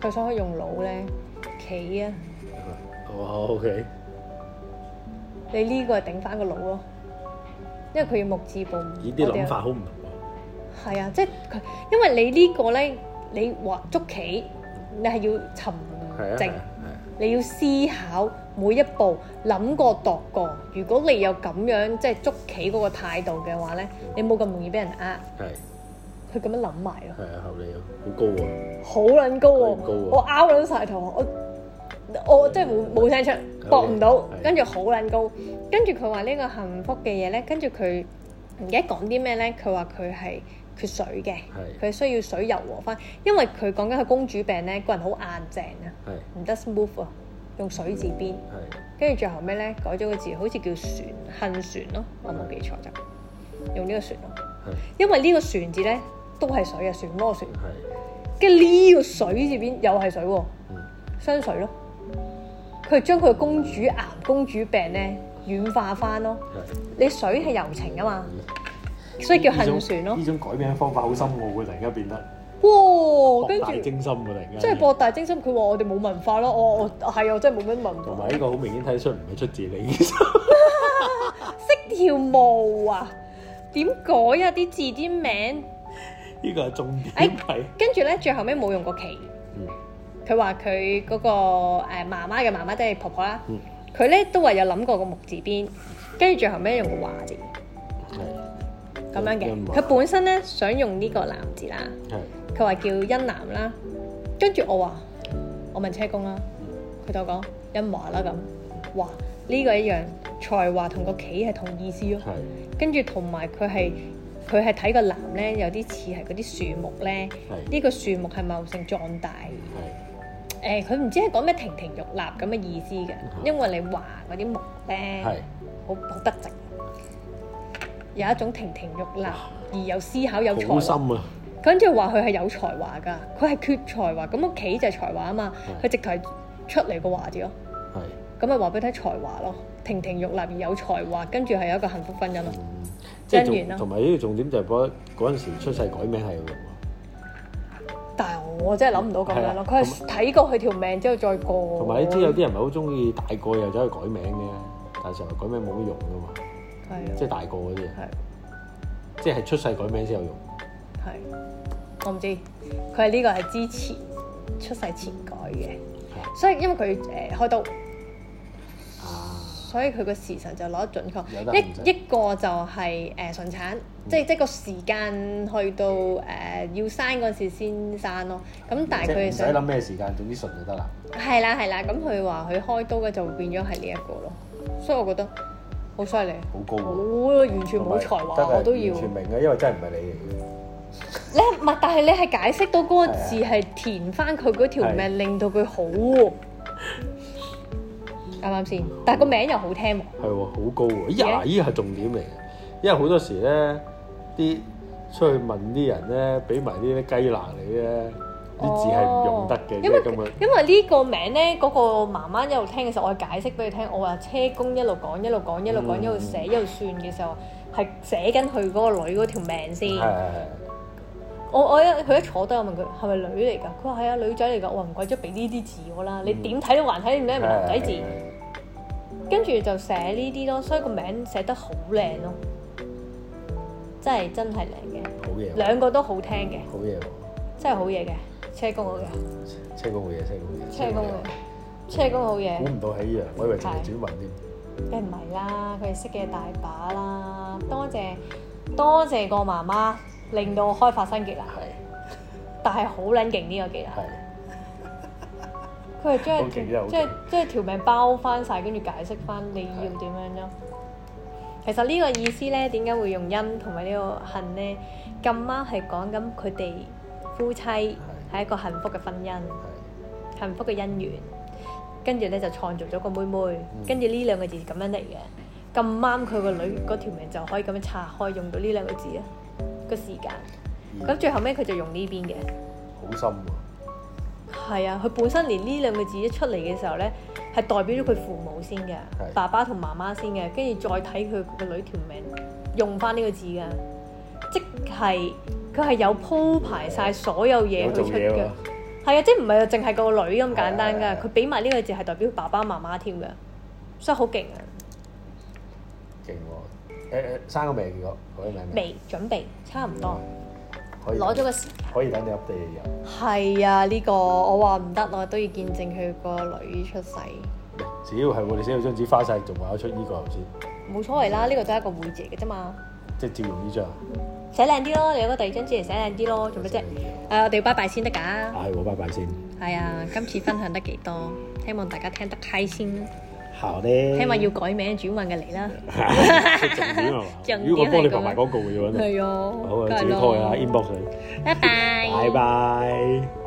佢想去用腦咧，棋啊。 哦 ，OK。 你呢個係頂翻個腦咯，因為佢要目字部。 咦？啲諗法好唔同喎。 係啊，即係佢，因為你個呢個咧，你話捉棋，你係要沉靜，你要思考每一步，諗過度過。如果你有咁樣即係捉棋嗰個態度嘅話咧，你冇咁容易俾人呃。係。佢咁樣諗埋咯。係啊，合理啊，好高喎。好撚高喎！高我拗撚晒頭，我我即係冇冇聲出，搏唔到，跟住好撚高。跟住佢話呢個幸福嘅嘢咧，跟住佢唔記得講啲咩咧？佢話佢係缺水嘅，佢需要水柔和翻，因為佢講緊佢公主病咧，個人好硬淨啊，唔得 smooth 啊，用水字邊。跟住最後咩咧？改咗個字，好似叫船，恨船咯，我冇記錯就用呢個船咯，因為呢個船字咧。都係水啊，漩渦船。係。跟住呢個水字邊又係水喎，雙水咯。佢係將佢嘅公主癌、公主病咧軟化翻咯。係。你水係柔情啊嘛，所以叫恨船咯。呢種改名方法好深奧喎，突然間變得。哇！跟住博大精深喎，突然間。即係博大精深，佢話我哋冇文化咯。我我係啊，真係冇乜文化。同埋呢個好明顯睇得出唔係出自你。識條毛啊？點改啊？啲字啲名？呢個係重點。誒，跟住咧，最後尾冇用過棋。佢話佢嗰個誒媽媽嘅媽媽即係婆婆啦。佢咧都話有諗過個木字邊，跟住最後尾用個華字。係。咁樣嘅。佢本身咧想用呢個男字啦。係。佢話叫欣南啦。跟住我話，我問車公啦，佢就講欣華啦咁。哇！呢個一樣，才華同個棋係同意思咯。係。跟住同埋佢係。佢係睇個男咧，有啲似係嗰啲樹木咧。呢個樹木係茂盛壯大。誒，佢唔知係講咩亭亭玉立咁嘅意思嘅，因為你話嗰啲木咧，好好筆直，有一種亭亭玉立而有思考有才華。好深啊！跟住話佢係有才華㗎，佢係缺才華，咁個棋就係才華啊嘛，佢直頭係出嚟個華字咯。係。咁咪話俾你睇才華咯，亭亭玉立而有才華，跟住係有一個幸福婚姻咯。即係同埋呢個重點就係嗰嗰陣時出世改名係有用喎。但係我真係諗唔到咁樣咯，佢係睇過佢條命之後再過。同埋你知有啲人咪好中意大個又走去改名嘅，但係成日改名冇乜用噶嘛。係。即係大個嗰啲。係。即係出世改名先有用。係。我唔知，佢係呢個係之前出世前改嘅，所以因為佢誒開刀。所以佢個時辰就攞得準確，一一個就係誒順產，即係即係個時間去到誒要生嗰陣時先生咯。咁但係佢唔使諗咩時間，總之順就得啦。係啦係啦，咁佢話佢開刀嘅就會變咗係呢一個咯。所以我覺得好犀利，好高喎，完全冇才華我都要。完全明嘅，因為真係唔係你嚟嘅。你唔係，但係你係解釋到嗰個字係填翻佢嗰條命，令到佢好喎。啱啱先？但係個名又好聽喎。係喎，好高喎！呀，依個係重點嚟嘅，因為好多時咧，啲出去問啲人咧，俾埋啲雞肋你咧，啲字係唔用得嘅。因為咁樣，因為呢個名咧，嗰個媽媽一路聽嘅時候，我係解釋俾佢聽，我話車公一路講一路講一路講一路寫一路算嘅時候，係寫緊佢嗰個女嗰條命先。係係係。我我一佢一坐低，我問佢係咪女嚟㗎？佢話係啊，女仔嚟㗎。我話唔怪之俾呢啲字我啦，你點睇都還睇唔到係咪男仔字？跟住就寫呢啲咯，所以個名寫得好靚咯，真係真係靚嘅，好嘢，兩個都好聽嘅，好嘢喎，真係好嘢嘅，車公好嘢，車公好嘢，車公好嘢，車公好嘢，車公好嘢，估唔到係呢樣，我以為淨係轉運添，梗唔係啦，佢哋識嘅大把啦，多謝多謝個媽媽令到我開發新技能，係，但係好撚勁呢個技能。佢係將即係即係條命包翻晒，跟住解釋翻你要點樣咯。其實呢個意思咧，點解會用恩同埋呢個恨咧？咁啱係講緊佢哋夫妻係一個幸福嘅婚姻，幸福嘅姻緣。跟住咧就創造咗個妹妹，跟住呢兩個字咁樣嚟嘅。咁啱佢個女嗰條命就可以咁樣拆開，用到呢兩個字啊個時間。咁最後尾佢就用呢邊嘅。好深喎！係啊，佢本身連呢兩個字一出嚟嘅時候咧，係代表咗佢父母先嘅，爸爸同媽媽先嘅，跟住再睇佢個女條命用翻呢個字嘅，即係佢係有鋪排晒所有嘢去出嘅。 係啊，即係唔係淨係個女咁簡單㗎？佢俾埋呢個字係代表爸爸媽媽添㗎，所以好勁啊！ 勁喎！誒誒，生個未結果？嗰啲名未準備，差唔多。 可以攞咗個時間。 可以等你 update 入。 係啊，呢個我話唔得，我都要見證佢個女出世。 只要係我哋寫到張紙花晒，仲話得出呢個頭先。 冇所謂啦，呢個都係一個會字嚟嘅啫嘛。 即係照用呢張。寫靚啲咯，你有個第二張紙嚟寫靚啲咯，做咩啫？誒、啊，我哋要拜拜先得㗎。 係我拜拜先。 係啊，今次分享得幾多？希望大家聽得開心。 好咧。 希望要改名轉運嘅嚟啦。 重點係嘛？如果我幫你拍埋廣告嘅話， 係啊。 好啊，自己拖下 inbox 佢。 拜拜。 拜拜。